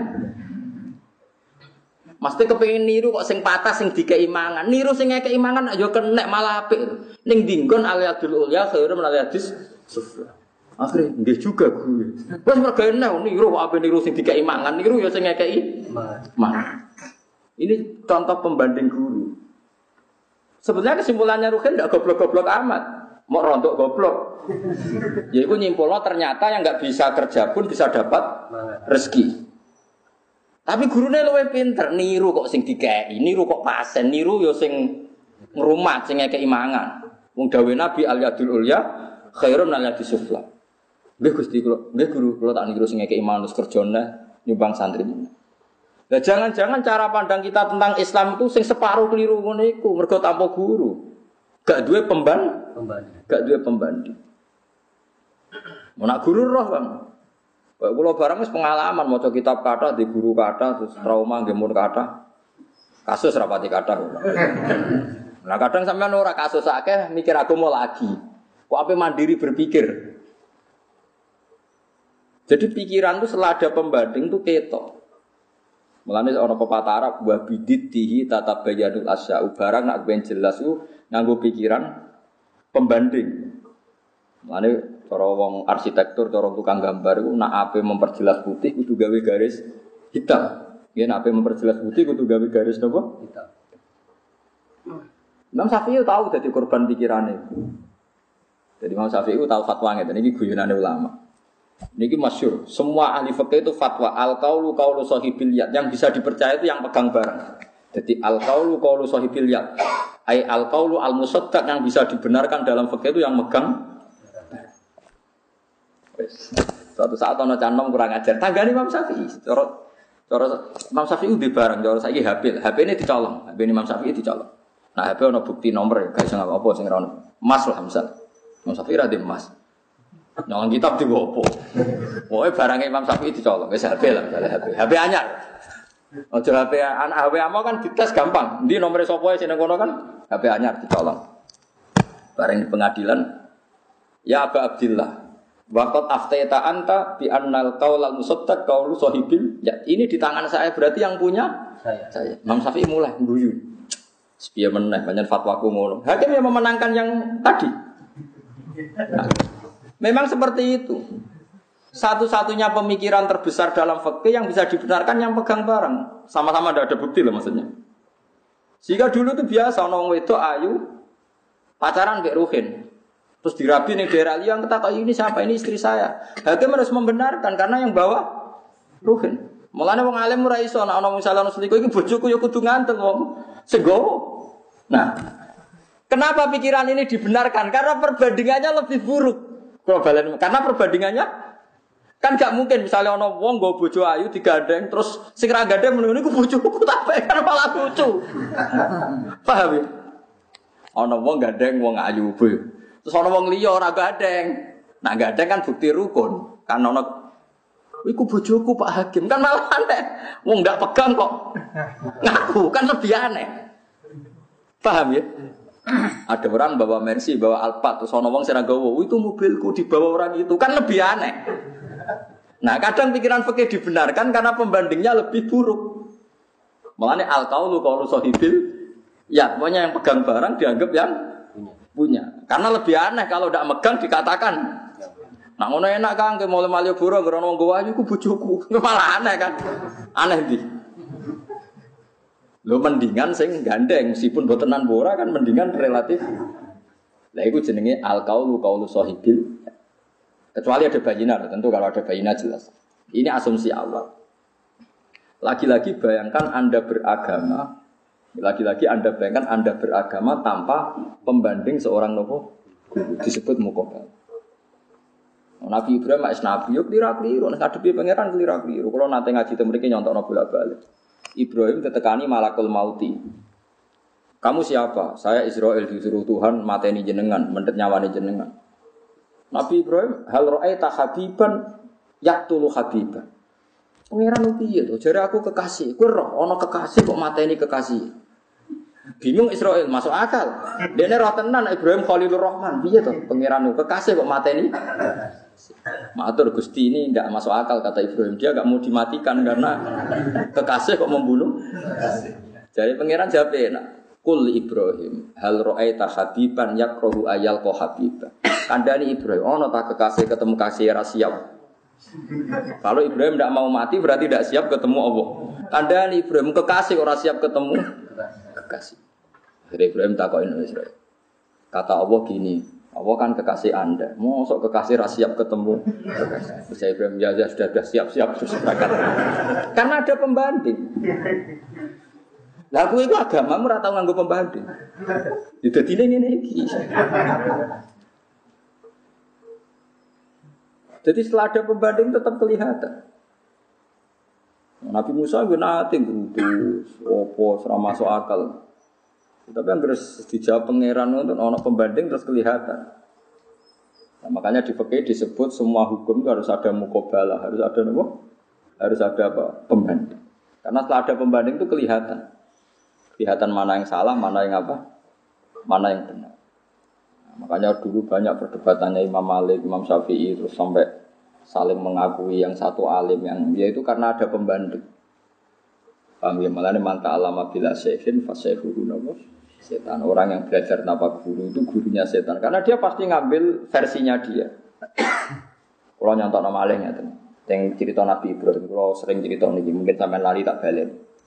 Mesti kepengin niru kok sing patah sing dikei mangan. Niru sing ngekei mangan ya kena malah apik. Ning dinggon aliyadul ulya khairu min aliyadis sufla. Akhire nggih juga gue. Wes mergo enak niru kok ape niru sing dikei mangan, niru ya sing ngekei mangan. Ini contoh pembanding guru. Sebenarnya kesimpulannya Ruhin tidak goblok-goblok amat, mau rontok goblok. Jadi aku nyimpulnya ternyata yang nggak bisa kerja pun bisa dapat rezeki. Tapi gurunya luwih pinter, niru kok sing dikei, niru kok pasen, niru yo sing ngrumat, sing ngekei mangan. Wong dawuh Nabi al-yadul ulya khairun min al-yadis sufla. Nggih Gusti kula, nggih guru kula tak niru sing ngekei mangan terus kerjane nyumbang santri. Nah, jangan-jangan cara pandang kita tentang Islam itu sing separuh keliru ngono iku, mergo tanpa guru. Gak duwe pemban, pembanding. Gak duwe pembanding. Mau nak guru roh, Bang. Kayak kula barang wis pengalaman maca kitab kata di guru kata terus trauma nggih mun kata. Kasus rapati kata. Nah, kadang sampean ora kasus akeh mikir aku mau lagi. Kok ape mandiri berpikir. Jadi pikiran itu setelah ada pembanding itu ketok. Mulane ana pepatah Arab wa bididdihi tatabayyanul asya'u barang nak ben jelas ku nganggo pikiran pembanding. Mulane cara wong arsitektur, cara tukang gambar iku nak ape memperjelas putih kudu gawe garis hitam. Nggih nak ape memperjelas putih kudu gawe garis napa? Hitam. Imam Syafi'i tahu dadi korban pikirane. Jadi Imam Syafi'i tahu fatwa ngeten iki guyonane ulama. Niki masyhur, semua ahli fikih itu fatwa al-qaulu qaulu sahibil yad, yang bisa dipercaya itu yang pegang barang. Jadi al-qaulu qaulu sahibil yad, ai al-qaulu al-musaddaq yang bisa dibenarkan dalam fikih itu yang megang. Suatu saat ana canom kurang ajar, tanggane Imam Syafi'i. Cara cara Imam Syafi'i udah barang, cara saiki H P, H P ini dicolong, H P ini Imam Syafi'i dicolong. Nah, H P ana bukti nomor, gak iso apa sing ora ono. Emas lah misal. Imam Syafi'i ra emas. Nyolong kitab digo opo. Pokoke barange Imam Syafi'i dicolong, wis H P lah, misale H P. H P anyar. Aja H P anak H P amo kan dites gampang. Ndi nomere sapa sing nang kono kan H P anyar dicolong. Bareng di pengadilan, ya Aba Abdillah. Waqat aftaita anta bi annal qaulal musaddaq qaulu sahibil. Ya, ini di tangan saya berarti yang punya saya. Saya. Imam Syafi'i mulai guyu. Sepiye meneh pancen fatwaku ngono. Hakim yang memenangkan yang tadi. Nah, memang seperti itu. Satu-satunya pemikiran terbesar dalam fikih yang bisa dibenarkan yang pegang barang. Sama-sama tidak ada bukti loh maksudnya. Jika dulu itu biasa orang wedok ayu pacaran mbek Ruhin. Terus dirabi nih daerah yang kata ini siapa, ini istri saya. Hakim harus membenarkan karena yang bawa Ruhin. Mulane wong alim ora iso nek ana misalnya ana selingkuh iki bojoku ya kudu nganteng wong segowo. Nah, kenapa pikiran ini dibenarkan? Karena perbandingannya lebih buruk. Karena perbandingannya kan gak mungkin misalnya ana wong nggo bojo ayu digandeng terus sing ra gandeng meneng niku bojoku tak kan malah lucu. Paham ya? Ana wong gandeng wong ayu boyo. Terus ana wong liya ora gandeng. Nah gandeng kan bukti rukun. Kan ana iku bojoku Pak Hakim kan malah aneh. Wong ndak pegang kok. Ngaku kan lebih aneh. Paham ya? Ada orang bawa Mercy, bawa Alphard, terus ana wong sing nggawa, "Itu mobilku dibawa orang itu." Kan lebih aneh. Nah, kadang pikiran fikih dibenarkan karena pembandingnya lebih buruk. Mulane al-qaulu qaulu sahibil, ya, pokoknya yang pegang barang dianggap yang punya. Karena lebih aneh kalau tidak megang dikatakan. Nah, ngono enak Kang, ke mall Malioboro ngrono wong gowo ayu ku bojoku. Malah aneh kan. Aneh ndi? Lho mendingan sing gandeng meskipun botenan bora kan mendingan relatif. Lah iku jenenge al-qaulu qaulu sahibil. Kecuali ada bayinah, tentu kalau ada bayinah jelas. Ini asumsi awal. Lagi-lagi bayangkan Anda beragama, lagi-lagi Anda bayangkan Anda beragama tanpa pembanding seorang nopo disebut muqabbal. Nabi Ibrahim mak nabi yo klira-kliru, nek ngadepi pangeran klira-kliru. Kalau nate ngaji teng mriki nyontokno bola-balik. Ibrahim tetekani malakul mauti. Kamu siapa? Saya Israel disuruh Tuhan mateni jenengan, mendet nyawane jenengan. Nabi Ibrahim hal ra'aita habiban yaqtulu habiban. Pangeran piye to? Jare aku kekasih. Kowe roh ana kekasih kok mateni kekasih. Bingung Israel, masuk akal. Dene roh tenan Ibrahim Khalilur Rahman. Piye to? Pangeran kekasih kok mateni? Matur Gusti ini tidak masuk akal kata Ibrahim. Dia enggak mau dimatikan karena kekasih kok membunuh. Jadi pangeran jawab enak. Kul Ibrahim hal ra'aita habiban yakrahu ayal ko habiba. Kandani Ibrahim ono tak kekasih ketemu kasih ra siap. Kalau Ibrahim tidak mau mati berarti tidak siap ketemu Allah. Kandani Ibrahim kekasih ora siap ketemu kekasih. Jadi Ibrahim takokin Israel. Kata Allah gini, Allah kan kekasih Anda. Mosok kekasih ra siap ketemu kekasih. Terus Ibrahim ya, ya sudah sudah siap-siap terus berangkat. Karena ada pembanding. Lah kowe iku agamamu ora tau nganggo pembanding. Ya dadine ngene iki. Jadi setelah ada pembanding tetap kelihatan. Nabi Musa gue nanti gerutus, opo, serama masuk akal. Tapi yang harus dijawab pangeran untuk ono pembanding terus kelihatan. Nah, makanya di fikih disebut semua hukum itu harus ada muqabalah, harus ada apa? Harus ada apa? Pembanding. Karena setelah ada pembanding itu kelihatan. Kelihatan mana yang salah, mana yang apa? Mana yang benar. Nah, makanya dulu banyak perdebatannya Imam Malik, Imam Syafi'i terus sampai saling mengakui yang satu alim yang yaitu karena ada pembanding. Paham ya? Malah ini manta alama bila syekhin fasyahuhu nawas setan. Orang yang belajar tanpa guru itu gurunya setan karena dia pasti ngambil versinya dia. Kalau nyontok nama alihnya itu yang cerita Nabi Ibrahim, kalau sering cerita ini mungkin sampai lari tak balik.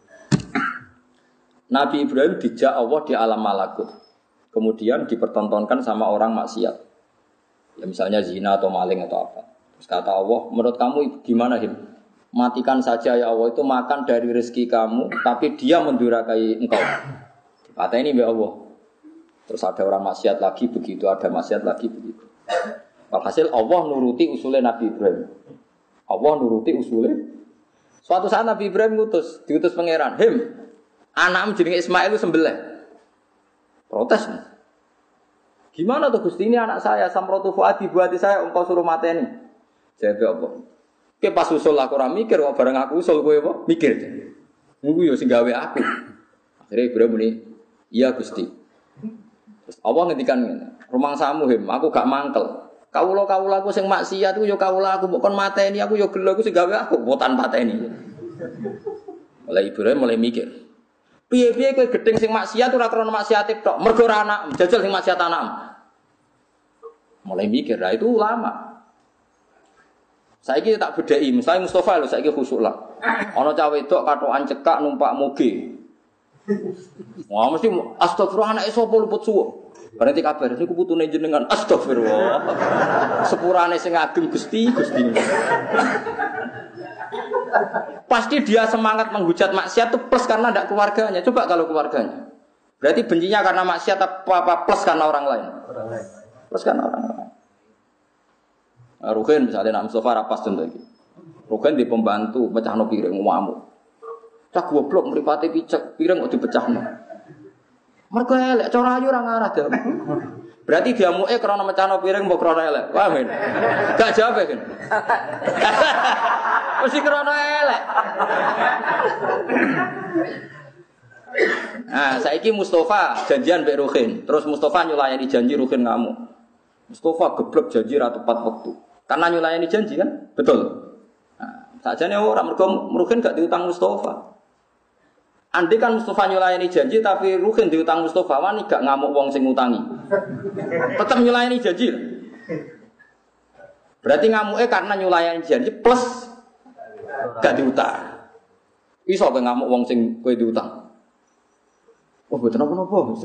Nabi Ibrahim dijak Allah di alam malakut. Kemudian dipertontonkan sama orang maksiat. Ya misalnya zina atau maling atau apa. Terus kata Allah, menurut kamu gimana Him? Matikan saja ya Allah, itu makan dari rezeki kamu, tapi dia mendurakai engkau. Kata ini ya Allah. Terus ada orang maksiat lagi begitu, ada maksiat lagi begitu. Walhasil Allah nuruti usulnya Nabi Ibrahim. Allah nuruti usulnya. Suatu saat Nabi Ibrahim ngutus, diutus pangeran, "Him, anakmu jenenge Ismail itu sembelih." Protes. Gimana tuh Gusti, ini anak saya, samrotu fuadi buati saya, engkau suruh mateni. Jawab apa? Ke pas usul aku ora mikir kok bareng aku usul kowe apa? Mikir. Niku yo sing gawe aku. Akhirnya Ibrahim muni, "Iya Gusti." Terus Allah ngendikan ngene, "Rumangsamu Him, aku gak mangkel. Kawula-kawula aku sing maksiat ku yo kawula aku, mbok kon mateni aku yo gelo aku sing gawe aku, mbok tan pateni." Mulai Ibrahim mulai mikir. Piye-piye kowe gedeng sing maksiat ora krana maksiate tok, mergo ora anak, jajal sing maksiat anakmu. Mulai mikir, lah itu ulama. Saiki tak bedheki, misalnya Mustafa lho saiki khusuk lah. Ana cah wedok katokan cekak numpak moge. Wah mesti astagfirullah anake sapa luput suwuk. Berarti kabar niku putune jenengan astagfirullah. Sepurane sing ageng Gusti, Gusti. Pasti dia semangat menghujat maksiat itu plus karena tidak keluarganya. Coba kalau keluarganya. Berarti bencinya karena maksiat apa plus karena orang lain? Orang lain. Plus karena orang lain. Nah, Ruhin misalnya nak Mustafa rapas contoh iki. Ruhin di pembantu pecahno piring ngamuk. Cak goblok mripate picek, piring kok dipecahno. Mergo elek cara ayu ora ngarah dah. Berarti dia muke krana mecahno piring mbok krana elek. Paham men? Gak jawab kan? Mesti krana elek. Nah, saiki Mustafa janjian mbek Ruhin. Terus Mustafa nyulayani janji Ruhin ngamuk. Mustafa geblek janji ra tepat waktu. Karena nyulayani janji kan? Betul. Nah, sajane ora mergo Ruhin gak diutang Mustafa. Andai kan Mustafa nyulayani janji tapi Ruhin diutang Mustafa, wani gak ngamuk wong sing ngutangi. Tetap nyulayani janji. Berarti ngamuknya karena nyulayani janji plus gak diutang. Iso kowe ngamuk wong sing kowe diutang. Oh, mboten napa-napa.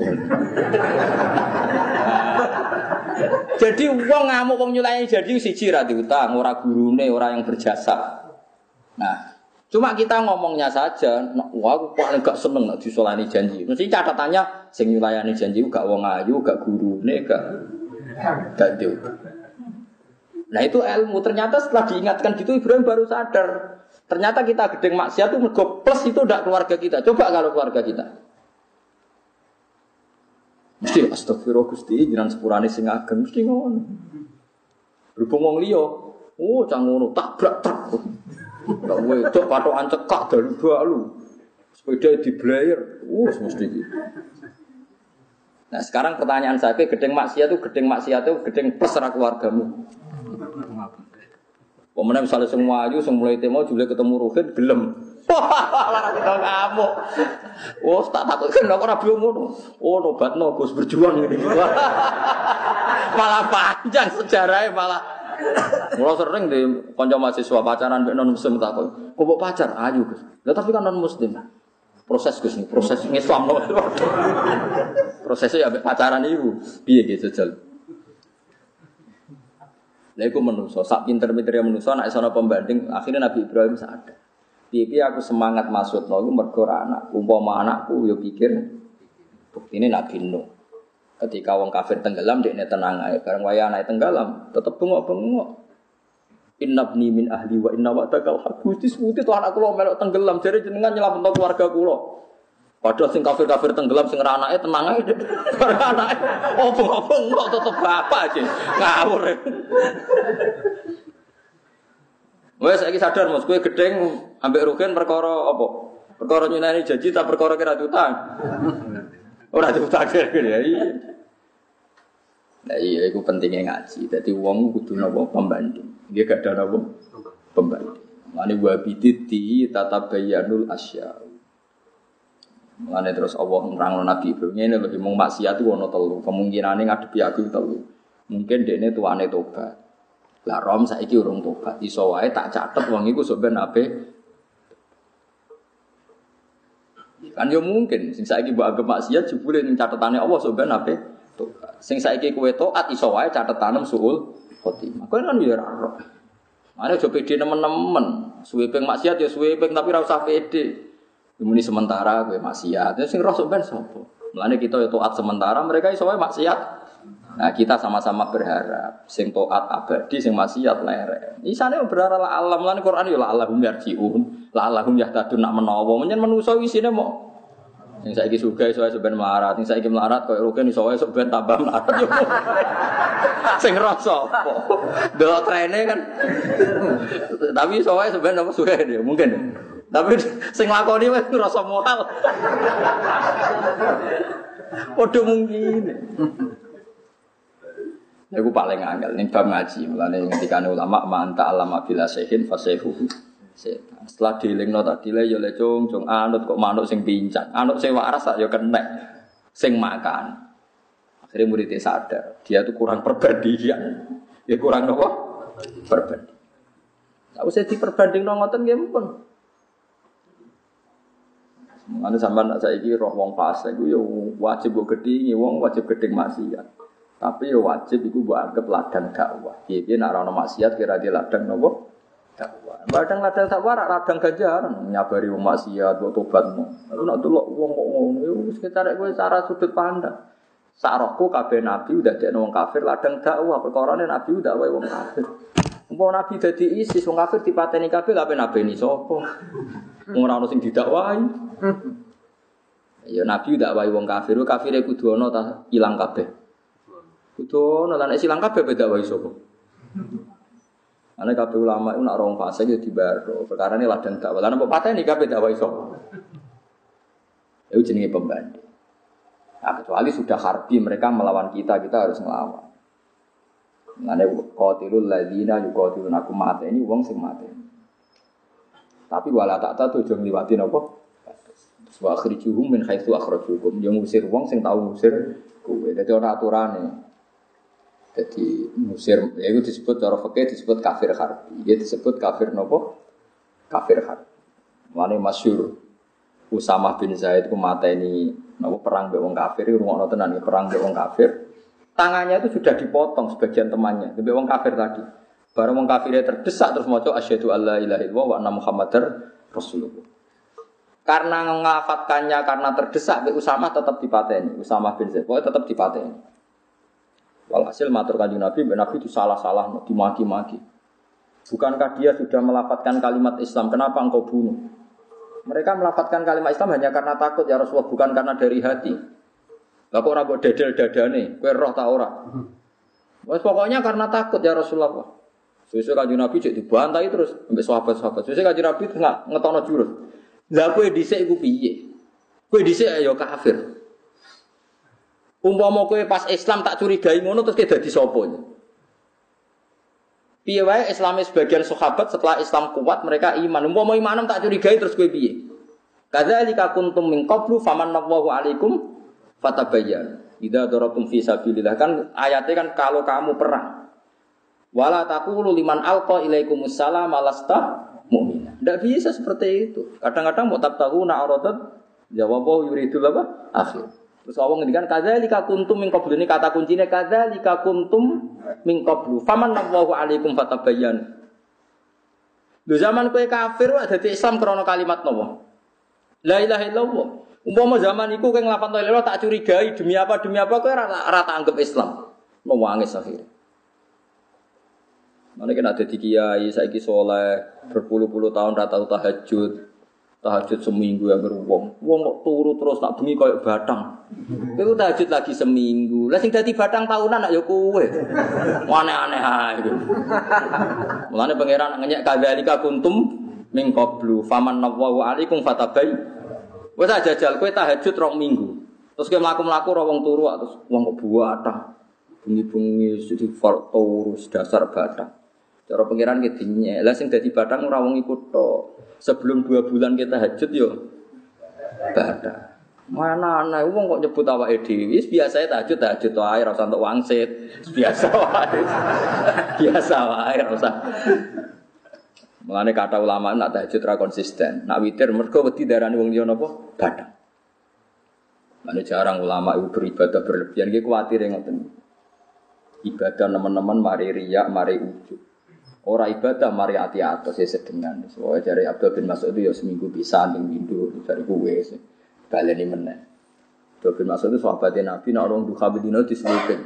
Jadi wong ngamuk wong nyulayani janji siji ra diutang, ora gurune, ora yang berjasa. Nah, cuma kita ngomongnya saja, nah, wah aku paling gak seneng nak disolani janji. Mesti catatannya sing nyulayani janji gak wong ayu, gak gurune, gak gak diutang. Nah itu ilmu. Ternyata setelah diingatkan gitu Ibrahim baru sadar. Ternyata kita gedeng maksiat itu mergo plus itu ndak keluarga kita. Coba kalau keluarga kita. Mesti astagfirullah Gusti, jenengan sepurane sing ageng mesti ngono. Berhubung wong liya, oh cang ngono tabrak truk. Lah wedok patokan cekak dalu-dalu. Sepeda diblayer. Uh mesti iki. Nah, sekarang pertanyaan saya, gedeng maksiat itu gedeng maksiat itu gedeng plus ra keluargamu. Pemenang misalnya semua ayu, semua mulai temo juga ketemu Ruhin gelem. Wah, lara kita ngamuk. Oh, tak takut kan aku rabi ngono. Oh, nobatno Gus berjuang ngene iki. Malah panjang sejarahnya malah. Mula sering di kanca mahasiswa pacaran mbek non muslim takut. Kok mbok pacar ayu, Gus. Lah tapi kan non muslim. Proses Gus nih, proses Islam loh. Prosesnya ya mbek pacaran iku. Piye ge jajal. Lha iku menungso, sak pinter-pintere menungso nek ana pembanding, akhirnya Nabi Ibrahim sadar. Piye-piye aku semangat maksudno iku mergo anak, umpama anakku yo pikir buktine Nabi Nuh. Ketika wong kafir tenggelam dekne tenang ae, bareng waya anake tenggelam, tetep bengok-bengok. Innabni min ahli wa inna wa'dakal haqq. Gusti sebuti to anak kula melok tenggelam, jare jenengan nyelametno keluarga kula. Padahal sing kafir-kafir tenggelam sing ora anake tenang ae. Bareng anake oh bengok-bengok tetep bapak aja. Ngawur. Wes saiki sadar Mas, kowe gedeng ambek Rugen perkara apa? Perkara nyunani janji ta perkara kira diutang. Ora diutang ya. Nah iya iku pentingnya ngaji. Dadi wong kudu napa pembanding. Nggih gak ada napa pembanding. Mane wa biditi tatabayyanul asya. Mane terus Allah nerangno Nabi Ibrahim ngene lho mung maksiat ku ana telu. Kemungkinane ngadepi aku telu. Mungkin dekne tuane tobat. Lah rom saiki urung tobat. Iso wae tak catet wong iku sok ben ape. Kan yo mungkin sing saiki mbok anggap maksiat jebule ning catetane Allah sok ben ape. Sing saiki kowe taat iso wae catetane suul khotimah. Kowe kan yo ora ora. Mane aja pede nemen-nemen. Suwe ping maksiat ya suwe ping tapi ora usah pede. Muni sementara kowe maksiat. Sing roh sok ben sapa? Mulane kita yo taat sementara, mereka iso wae maksiat Nah, kita sama-sama berharap sing taat abadi, sing maksiat lerek. Isane berharap la alam lan Quran yo la Allahum yarjiun, la Allahum yahtadun nak menawa. Menyen manusa isine mau sing saiki sugih iso ben melarat, sing saiki melarat koyo rugen iso wae sok ben tambah melarat yo. Sing rasa apa? Delok trene kan. Tapi iso wae ben apa sugih yo mungkin. Tapi sing lakoni wis ngrasa moral. Padha mungkin. Iku paling angel ning bab ngaji, mulane ngendikane ulama manta alama bila sehin fasehu. Setelah dilingno tadi le yo le cung cung anut kok manuk sing pincang. Anut sing waras sak yo kenek sing makan. Akhirnya muridnya sadar, dia tuh kurang perbandingan. Ya kurang apa? Perbanding. Tak usah diperbandingno ngoten nggih mumpun. Mulane sampean nek saiki roh wong fasik iku yo wajib mbok gedhingi, wong wajib gedhing maksiat. Tapi ya wajib itu buat anggap ladang dakwah. Piye-piye nek ana maksiat kira dia ladang napa? Dakwah. Ladang ladang dakwah ladang ganjaran nyabari wong maksiat kok tobatmu. Lalu nek delok wong kok ngono ya wis ketarek kowe cara sudut pandang. Sarahku kabeh nabi udah dekno wong kafir ladang dakwah, perkarane nabi udah wae wong kafir. Umpama nabi dadi ISIS wong kafir dipateni kabeh kabeh nabi ni sapa? Wong ora ono sing didakwahi. Ya nabi udah wae wong kafir, kafire kudu ana ta ilang kabeh. Kudu ana lan silang kabeh beda wae sapa. Ana kabeh ulama iku nak rong fase ya dibaro. Perkarane ladang dakwah. Lan apa pateni kabeh dakwah sapa. Itu jenenge pembanding. Nah, kecuali sudah harbi mereka melawan kita, kita harus melawan. Ngene qatilul ladzina yuqatilunakum mateni wong sing mateni. Tapi wala tak tahu aja ngliwati napa? Wa akhrijuhum min haitsu akhrajukum. Yo ngusir wong sing tau ngusir kowe. Dadi ora aturane. Jadi musir, ya itu disebut cara fikih disebut kafir harbi. Dia disebut kafir nopo? Kafir harbi. Mane masyhur Usamah bin Zaid ku mateni nopo perang mbek wong kafir, rungokno tenan perang mbek wong kafir. Tangannya itu sudah dipotong sebagian temannya, mbek wong kafir tadi. Bareng wong kafirnya terdesak terus maca asyhadu alla ilaha illallah wa anna muhammadar rasulullah. Karena mengafatkannya karena terdesak mbek Usamah tetap dipateni. Usamah bin Zaid pokoknya tetap dipateni. Walhasil matur kanjeng Nabi, Nabi itu salah-salah, dimaki-maki. Bukankah dia sudah melafatkan kalimat Islam? Kenapa engkau bunuh? Mereka melafatkan kalimat Islam hanya karena takut ya Rasulullah, bukan karena dari hati. Lah kok ora mbok dedel dadane, kowe roh ta ora? Wes pokoknya karena takut ya Rasulullah. Sesuk kanjeng Nabi cek dibantai terus ambek sahabat-sahabat. Sesuk kanjeng Nabi nggak ngetokno jurus. Lah kowe dhisik iku piye? Kowe dhisik ya kafir. Umpama kowe pas Islam tak curigai ngono terus kowe dadi sapa? Piye wae Islame sebagian sahabat setelah Islam kuat mereka iman. Umpama imanem tak curigai terus kowe piye? Kadzalika kuntum min qablu famanallahu alaikum fatabayyan. Idza daratum fi sabilillah kan ayatnya kan kalau kamu perang. Wala taqulu liman alqa ilaikumus salam lasta mu'mina. Enggak bisa seperti itu. Kadang-kadang mau tabtaguna aradat jawabu yuridul apa? Akhir. Terus Allah ngendikan kadzalika kuntum min qablu, ini kata kuncinya kadzalika kuntum min qablu famanallahu alaikum fatabayyan. Lho zaman kowe kafir wae dadi Islam krana kalimat napa? La ilaha illallah. Umpama zaman iku kowe nglafal la ilaha tak curigai demi apa demi apa kowe ora ora tak anggap Islam. Nangis akhire. Mane kena dadi kiai saiki saleh berpuluh-puluh tahun ra tau tahajud. Tahajud seminggu yang beruang, wong kok turu terus nak bengi koyo batang. Kowe tahajud lagi seminggu. Lah sing dadi batang tahunan nak ya kowe. Aneh-aneh ae iku. Mulane pangeran ngenyek kadzalika kuntum min qablu famanallahu alaikum fatabai. Wes jajal kowe tahajud rong minggu. Terus kowe mlaku-mlaku ora wong turu terus wong kok batang. Bengi-bengi sedi turu dasar batang. Cara pangeran ki dinyek. Lah sing dadi batang ora wong iku tok. Sebelum dua bulan kita hajud yo, badan. Mana anak wong kok nyebut awake dhewe? Biasa tahajud tahajud wae ora usah entuk wangsit. Biasa wae. Biasa wae ora usah. Mulane kata ulama nak tahajud ra konsisten. Nak witir mergo wedi darani wong liya napa? Badan. Mane jarang ulama itu beribadah berlebihan iki kuwatir ngoten. Ibadah teman-teman mari riya, mari ujub. Ora ibadah mari ati atos ya sedengan. Soale jare Abdul bin Mas'ud itu ya seminggu pisan ning windu jare kuwe baleni meneh. Abdul bin Mas'ud itu sahabat Nabi nek orang duha bedino diselipin.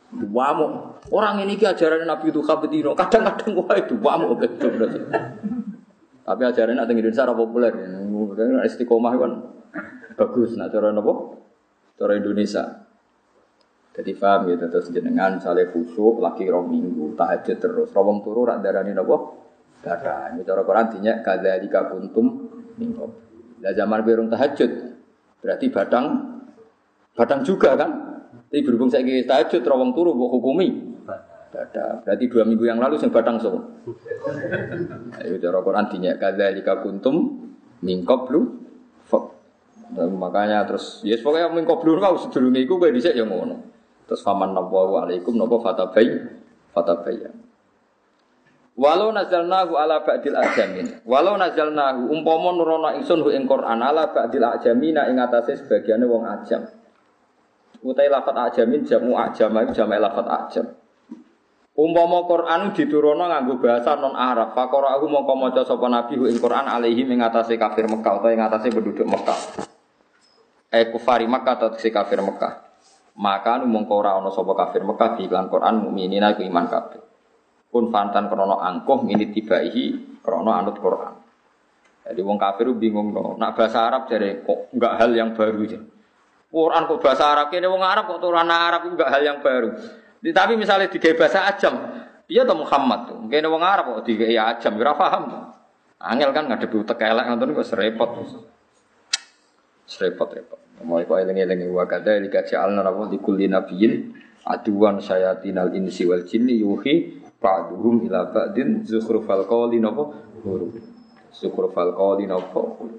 Wamuk. Orang ini ki ajaran Nabi itu kabetino. Kadang-kadang wae itu wamuk betul berarti. Tapi ajaran nak teng Indonesia ora populer. Istiqomah kan bagus nak cara napa? Cara Indonesia. Jadi paham gitu terus jenengan misalnya khusyuk lagi rong minggu tahajud terus rawang turu rak darani napa? Darah. Ini cara Quran dinya kadzalika kuntum minggu. Lah zaman berung tahajud berarti badang badang juga kan? Tapi berhubung saya kira tahajud, rawang turu, buat hukumi. Ada. Berarti dua minggu yang lalu saya batang so. Ayo cara Quran dinya kadzalika kuntum min qablu fa. Makanya terus yes pokoknya min qablu kau sedurunge iku kowe dhisik ya ngono. Terus faman nabawu alaikum napa fatabay fatabayyan. Walau nazalnahu ala ba'dil ajamin. Walau nazalnahu umpama nurono ingsun hu ing Quran ala ba'dil ajamina ing atase sebagiane wong ajam. Utai lafat ajamin jamu ajama itu jamak lafat ajam. Umpama Quran diturunno nganggo bahasa non Arab, faqara aku mongko maca sapa nabi ing Quran alaihi ing atase kafir Mekah utawa ing atase penduduk Mekah. Eh kufari Mekah atau si kafir Mekah. Maka nu mongko ora ana sapa kafir Mekah di iklan Quran mukminina iku iman kabeh. Pun fantan krana angkuh minit tibaihi krana anut Quran. Jadi wong kafir bingung no. Nak bahasa Arab jare kok enggak hal yang baru aja. Quran kok bahasa Arab, kene wong Arab kok turunan Arab itu enggak hal yang baru. Tapi misalnya digawe bahasa ajam, dia tuh Muhammad tuh. Kene wong Arab kok digawe ajam, ora paham. Angel kan ngadepi utek elek ngoten kok serepot. Serepot-repot. Mau kok eling-eling wa kadza lika ja'alna rabbul likulli nabiyyin aduwan syayatinal insi wal jinni yuhi ba'duhum ila ba'din zukhrufal qawli napa huruf. Zukhrufal qawli napa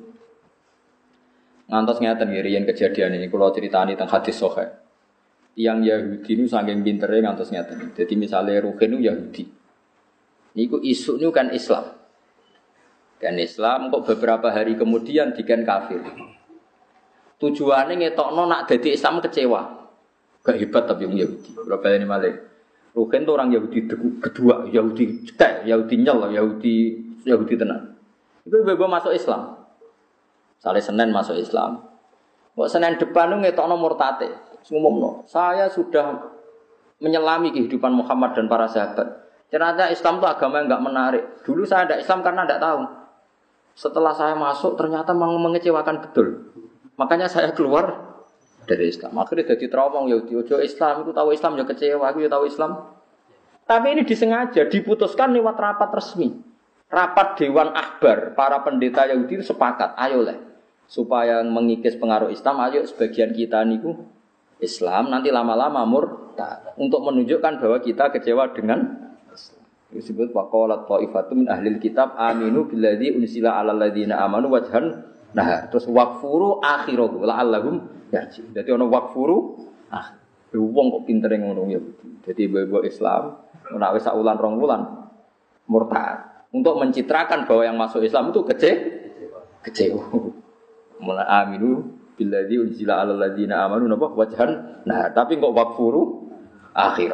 ngantos ngeten nggih riyen kejadian ini kula critani teng hadis sahih. Yang Yahudi niku saking pintere ngantos ngeten. Dadi misale Ruhin niku Yahudi. Niku isuk niku kan Islam. Dan Islam kok beberapa hari kemudian diken kafir. Tujuane ngetokno nak dadi Islam kecewa. Gak hebat tapi wong Yahudi. Berapa ini malih. Ruhin itu orang Yahudi kedua, Yahudi cek, Yahudi nyel, Yahudi Yahudi tenan. Itu bebo masuk Islam. Saleh Senin masuk Islam. Kok Senin depan itu ngetokno murtate. Ngumumno, saya sudah menyelami kehidupan Muhammad dan para sahabat. Ternyata Islam itu agama yang enggak menarik. Dulu saya ada Islam karena enggak tahu. Setelah saya masuk ternyata mengecewakan betul. Makanya saya keluar dari Islam. Akhirnya jadi trauma Yahudi. Ojo Islam itu tahu Islam ya kecewa, aku ya tahu Islam. Tapi ini disengaja diputuskan lewat rapat resmi. Rapat Dewan Akbar, para pendeta Yahudi itu sepakat, ayolah supaya mengikis pengaruh Islam, ayo sebagian kita niku Islam nanti lama-lama murtad untuk menunjukkan bahwa kita kecewa dengan Islam. Disebut waqalat ta'ifatun min ahlil kitab aminu billadzi unsila 'alal ladzina amanu wajhan nah terus waqfuru akhirahu la'allahum yarji. Dadi ana waqfuru ah wong kok pintere ngono ya. Dadi ibu-ibu Islam ora wis sak wulan rong wulan murtad. Untuk mencitrakan bahwa yang masuk Islam itu kece, kecewa. Mulai aminu billadzi unzila 'alal ladzina amanu napa wajhan. Nah, tapi kok wakfuru akhir.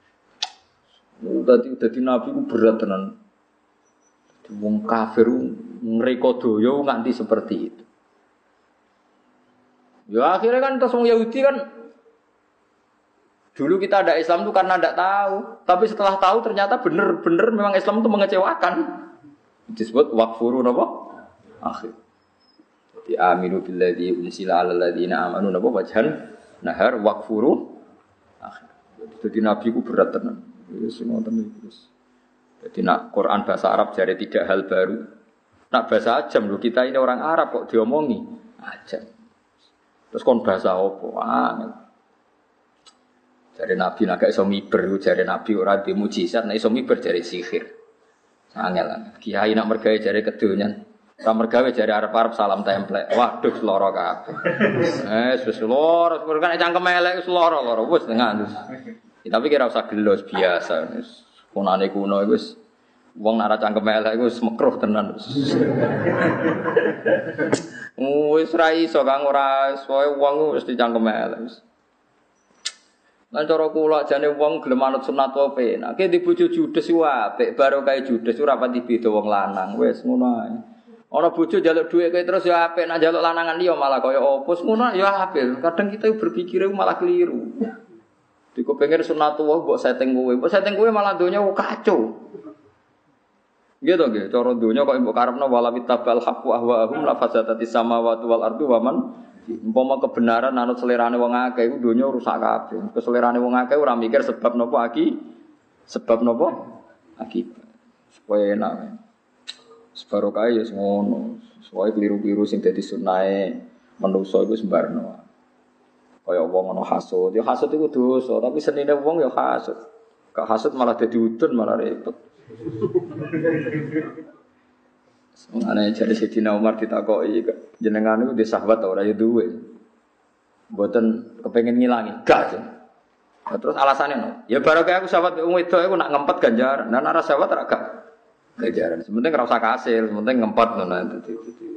Dadi dadi nabi ku berat tenan. Wong kafir ngreka doya nganti seperti itu. Ya akhirnya kan terus wong Yahudi kan dulu kita ada Islam itu karena tidak tahu, tapi setelah tahu ternyata benar-benar memang Islam itu mengecewakan. Disebut wakfuru napa? Akhir. Jadi aminu billadzi unsila 'alal ladzina amanu napa wajhan nahar wakfuru akhir. Jadi nabi ku berat tenan. Wis ngoten iki. Jadi nak Quran bahasa Arab jare tidak hal baru. Nak bahasa ajam lho kita ini orang Arab kok diomongi ajam. Terus kon bahasa opo? Angel. Jare Nabi nak iso miber, jare Nabi ora di mukjizat, nek iso miber jare sihir. Angel. Kiai nak mergawe jare kedonyan. Ora mergawe jare arep-arep salam templek. Waduh lara kabeh. Eh wis lara, kan cangkem elek wis lara-lara wis tengah terus. Tapi kira usah gelos biasa wis. Kunane kuno iku wis wong nak cangkem elek iku wis mekruh tenan. Wis ra iso kang ora soe wong wis dicangkem elek wis. Lan cara kula jane wong gelem manut sunat wae penak. Ki di bojo judes ku apik, baro kae judes ora pati beda wong lanang. Wis ngono ae. Ana bojo njaluk dhuwit kowe terus ya apik, nek njaluk lanangan liya malah kaya opo. Ngono ya apik. Kadang kita berpikir malah keliru. Diku pengen sunatullah mbok setting kowe. Mbok setting kowe malah donya kacau. Gitu nggih, cara donya kok mbok karepno wala bitabal haqq wa ahwaahum la fasadatis samawati wal ardu wa man umpama kebenaran anut selerane wong akeh iku donya rusak kabeh. Keselerane wong akeh ora mikir sebab napa aki sebab napa akibat. Supaya enak. Separo kae ya ngono. Supaya keliru-keliru sing dadi sunahe manusa iku sembarno. Kaya wong ana hasud, ya hasud iku dosa, tapi senine wong ya hasud. Gak hasud malah dadi udun malah repot. Ana jare Sayyidina Umar ditakoki jenengan niku di sahabat ora ya duwe. Mboten kepengin ngilangi, gak. Nah, terus alasannya no, ya barokah aku sahabat wong wedok aku nak ngempet ganjaran. Nah nek sahabat ora gak ganjaran. Sementing ora usah kasil, sementing ngempet ngono dadi.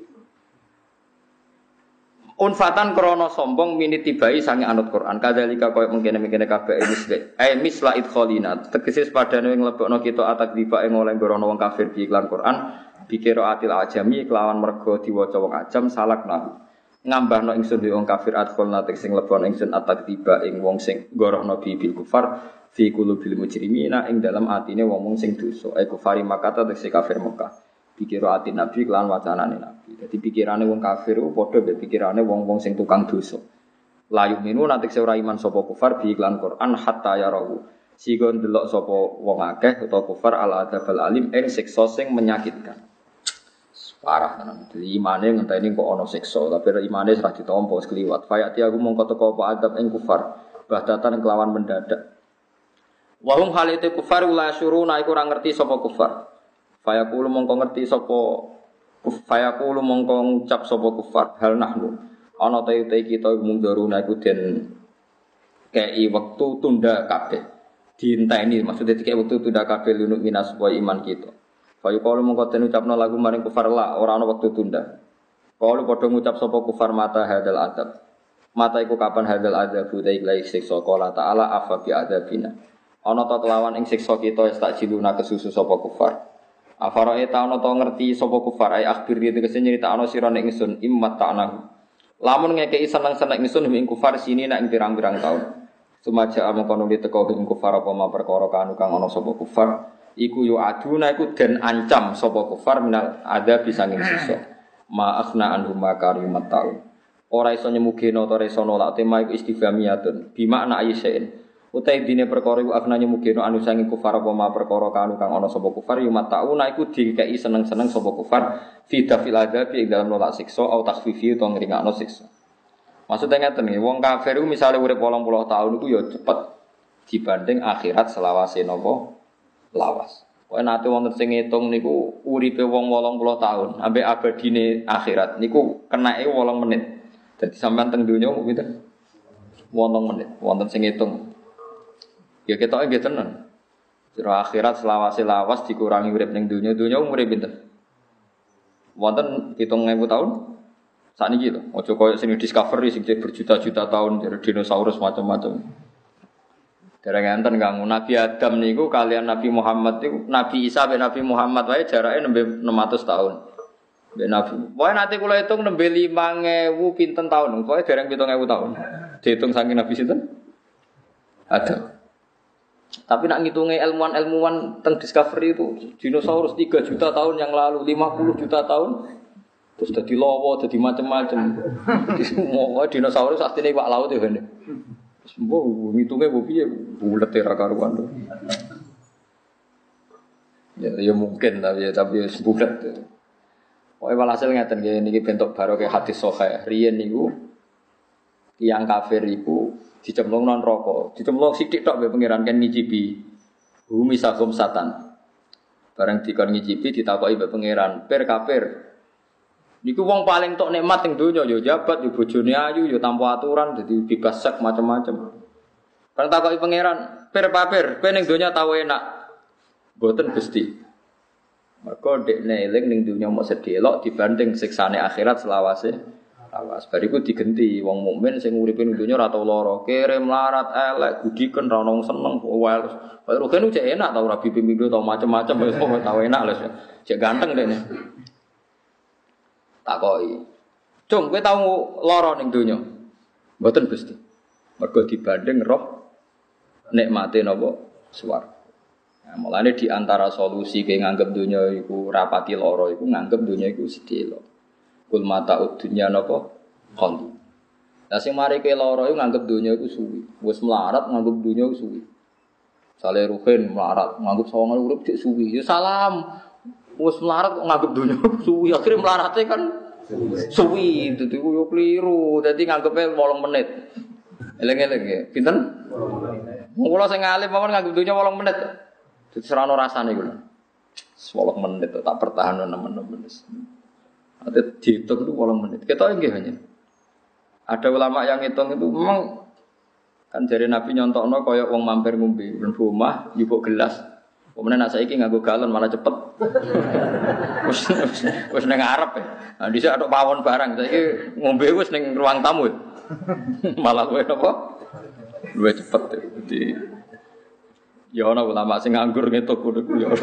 Unfatan krono sombong mini tibai sange anut Quran. Kadzalika koyo mengkene-mengkene kabeh misle. Eh misla idkholina. Tegese padane nglebokno kita atak diba ing oleh ngorono wong kafir di iklan Quran. Bikira atil ajami kelawan mergo diwaca wong ajam salakna. Ngambahno ingsun wong kafir adkholna sing lebon ingsun atak diba ing wong sing ngorono bibil kufar fi qulubil mujrimina ing dalam atine wong-wong sing dosa. Ai kufari makata tegese kafir Mekah. Pikira ati Nabi kelan wacanane Nabi. Dadi pikirane wong kafir ku padha mbek pikirane wong-wong sing tukang dosa. Layu minu nanti ora iman sapa kufar bi iklan Quran hatta yarahu. Sigon delok sapa wong akeh utawa kufar al adzabal alim ing siksa sing menyakitkan. Parah tenan. Dadi imane ngenteni kok ana siksa, tapi imane ora ditampa wis kliwat. Fayati aku mongko teko apa adab ing kufar. Bahdatan kelawan mendadak. Wahum halite kufar la syuruna iku ora ngerti sapa kufar. Fayaqulu mongko ngerti sapa fayaqulu mongko ngucap sapa kufar hal nahnu ana ta te kita munduruna iku den kei wektu tunda kabeh dienteni maksudnya dikek wektu tunda kabeh lunuk minas supaya iman kita fayaqulu mongko den ucapno lagu maring kufar la ora ana wektu tunda kalau padha ngucap sapa kufar mata hadal adab mata iku kapan hadal adab utai lai siksa qala taala afa bi adabina ana ta kelawan ing siksa kita tak jiluna kesusu sapa kufar. Afarae ta'ana ta ngerti sapa kufar ai akhbir iki tegese nyritakno sira nek ingsun immat ta'nahu. Lamun ngekeki seneng-seneng ingsun ing kufar sini nek ing pirang-pirang taun. Sumaja amkono diteko ing kufar apa ma perkara kanu kang ana sapa kufar iku yo aduna iku den ancam sapa kufar minal ada bisa ing sisa. Ma akhna anhum makarimat taun. Ora iso nyemugeno ta iso nolak tema iku istifhamiyatun. Bimakna ayyain. Utai dine perkara iku afnane mugeno anu sange kufar apa ma perkara kanu kang ana sapa kufar yo matauna iku dikeki seneng-seneng sapa kufar fi dafil adab ing dalam nolak siksa au takhfifi utawa ngringakno siksa. Maksudnya ngeten nggih, wong kafir iku misale urip wolong puluh tahun iku yo cepet dibanding akhirat selawase napa lawas. Kok nate wonten sing ngitung niku uripe wong wolong puluh tahun ambek abadine akhirat niku kenake wolong menit. Dadi sampean teng donya pinten? wolong menit. Wonten sing ngitung. Ya ketoke nggih tenan. Sira akhirat selawase lawas dikurangi urip ning donya, donya umure pinten? Wonten pitung ewu tahun? Sakniki lho, aja koyo sing Discovery sing berjuta-juta tahun dari dinosaurus macam-macam. Dereng enten kang Nabi Adam niku kalian Nabi Muhammad niku Nabi Isa ben Nabi Muhammad wae jarake nembe enam ratus tahun. Ben Nabi. Wae nanti kula hitung nembe lima ewu pinten tahun. Pokoke dereng pitung ewu tahun. Dihitung saking Nabi sinten? Ada. Tapi nak ngitunge ilmuwan-ilmuwan teng Discovery itu dinosaurus tiga juta tahun yang lalu, lima puluh juta tahun terus dadi lawa, dadi macam-macam. Semua dinosaurus asline iwak laut ya ngene. Semua ngitunge mbok piye bulet ra karuan. Ya ya mungkin tapi ya tapi ya bulet. Pokoke walhasil ngeten nggih niki bentuk barokah hadis sahih. Riyen niku tiyang kafir iku dicemplung nang neraka. Dicemplung sithik tok mbek pangeran kan ngicipi. Bumi sagum satan. Bareng dikon ngicipi ditakoki mbek pangeran, "Pir kafir. Niku wong paling tok nikmat ning donya ya jabat, ya bojone ayu, ya tanpa aturan, dadi bebas sek macam-macam." Bareng takoki pangeran, "Pir kafir, kowe ning donya tau enak?" "Mboten, Gusti." Mergo dekne eling ning donya mok sedelok dibanding siksane akhirat selawase. Awas bariku digenti wong mukmin sing uripe ning donya ora tau lara, kere melarat elek gudiken ra ono seneng wae. Kaya rogen cek enak tau ora bimbing-bimbing tau macam-macam wis tau enak lho. Cek ganteng dekne. Takoki. "Cung, kowe tau lara ning donya?" "Mboten, Gusti." Mergo dibanding roh nikmate napa swarga. Nah, mulane di antara solusi ke nganggep dunya iku rapati lara iku nganggep dunya iku sedhela. Kul mataud dunya napa qalil. Lah sing mari ke lara iku nganggep dunya iku suwi. Wis melarat nganggep dunya iku suwi. Sale ruhin melarat nganggep sawangan urip dik suwi. Ya salam. Wis melarat kok nganggep dunya suwi. Akhire melarate kan suwi. Dadi ku yo kliru. Dadi nganggepe wolong menit. Eleng-eleng ya. Pinten? Wong kula sing alim mawon nganggep dunya wolong menit. Dadi serana rasane kula. wolong menit tak pertahanno nemen-nemen. Ate dihitung itu wolong menit. Kita nggih hanya. Ada ulama yang hitung itu memang kan jare Nabi nyontokno kaya wong mampir ngombe ben omah njupuk gelas. Pemene nek saiki nganggo galon malah cepet. Wis wis ning ngarep. Nah dhisik atok pawon barang saiki ngombe wis ning ruang tamu. Malah luwih apa? Luwih cepet. Jadi ya ana ulama sing nganggur ngetuk ngono ku ya.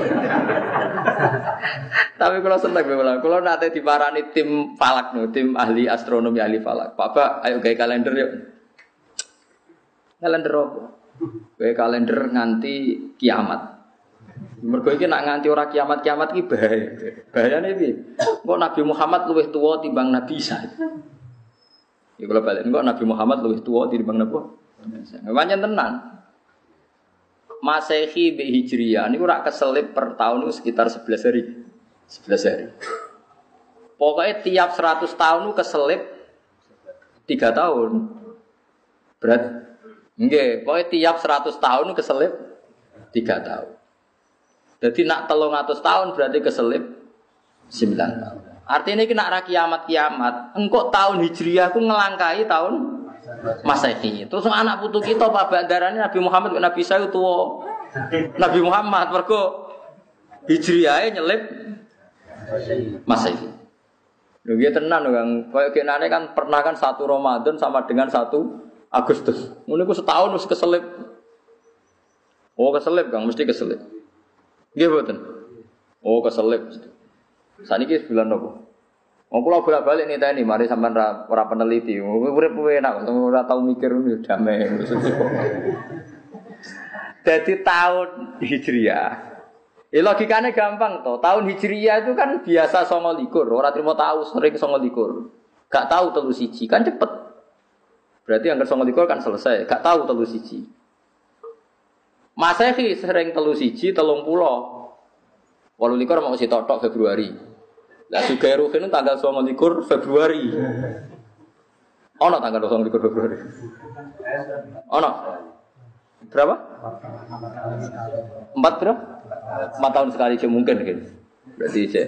Tapi kalau seneng kula, kula nate diparani tim falak no, tim ahli astronomi ahli falak. Pak, ayo gawe kalender yuk. Kalender apa? Gawe kalender nganti kiamat. Mergo iki nak nganti ora kiamat-kiamat iki bahaya. Bahayane piye? Kok Nabi Muhammad luwih tuwa timbang Nabi Isa. Ya kula balen kok Nabi Muhammad luwih tuwa timbang napa? Pancen tenan. Masehi bi Hijriyah niku rak keselip per tahun itu sekitar sebelas hari. sebelas hari. Pokoknya tiap seratus tahun itu keselip tiga tahun. Berat. Nggih, pokoknya tiap seratus tahun itu keselip tiga tahun. Jadi nak telung atus tahun berarti keselip sembilan tahun. Artinya ini nak ra kiamat-kiamat, engkau tahun Hijriyah ku ngelangkai tahun Masehi. Terus anak putu kita Pak bandarane Nabi Muhammad Nabi Isa tuwa. Nabi Muhammad mergo Hijriyahe nyelip Masehi. Lho nggih tenan Kang. Kaya kenane kan pernah kan satu Ramadan sama dengan satu Agustus. Ngono iku setahun wis keselip. Oh keselip Kang, mesti keselip. Nggih mboten. Oh keselip. Saniki bulan napa? Wong kula bolak-balik niteni mari sampean ora ora peneliti. Urip enak, ora tau mikir ngono damai. Jadi tahun Hijriah. Ya logikane gampang toh. Tahun Hijriah itu kan biasa songo likur, ora trimo tahu sering songo likur. Gak tahu telu siji kan cepet. Berarti anggar songo likur kan selesai, gak tahu telu siji. Masehi sering telu siji telung puluh. Walu likur mau si totok Februari. Lah juga Ruhin tanggal songo likur Februari. Ono tanggal songo likur Februari. Ono. Berapa? Empat berapa? Empat tahun sekali sih mungkin kan. Berarti cek.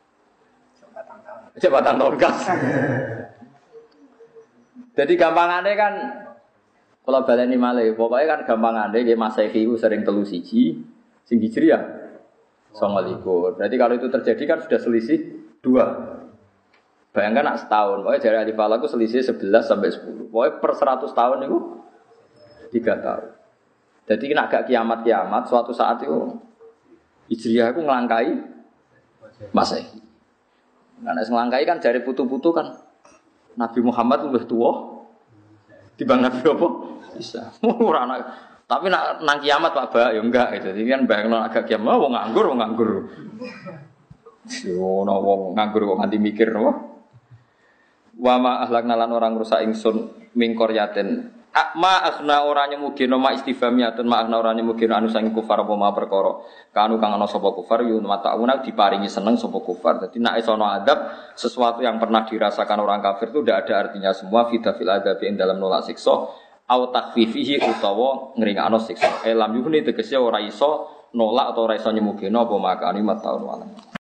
Cek batang tahun kas. Jadi gampangannya kan kalau baleni malih, pokoknya kan gampangannya nggih Masehi ku sering telu siji, sing Hijriah songo likur. Berarti kalau itu terjadi kan sudah selisih dua. Bayangkan nak setahun, pokoknya dari Alif Falak itu selisih sebelas sampai sepuluh. Pokoknya per seratus tahun itu tiga tahun. Jadi kena agak kiamat-kiamat, suatu saat itu Hijriah itu ngelangkai Masehi. Karena ngelangkai kan dari putu-putu kan Nabi Muhammad lebih tua dibanding Nabi apa? Bisa. Tapi nak nang kiamat Pak Ba ya enggak gitu. Jadi kan bayangno agak kiamat wong nganggur, wong nganggur. Yo no wong nganggur kok nganti mikir no. Wa ma ahlakna lan orang rusak ingsun ming qaryatin. Ma akhna ora nyemugino ma istifhamiyatun ma akhna ora nyemugino anu sang kufar apa ma perkara. Kanu kang ana sapa kufar yo matauna diparingi seneng sapa kufar. Dadi nek isono adab sesuatu yang pernah dirasakan orang kafir itu tidak ada artinya semua fidafil adabi ing dalam nolak siksa au takfifihi utawa ngringakno siksa. Elam yuhni tegese ora iso nolak atau ora iso nyemugino apa makani mataun walam.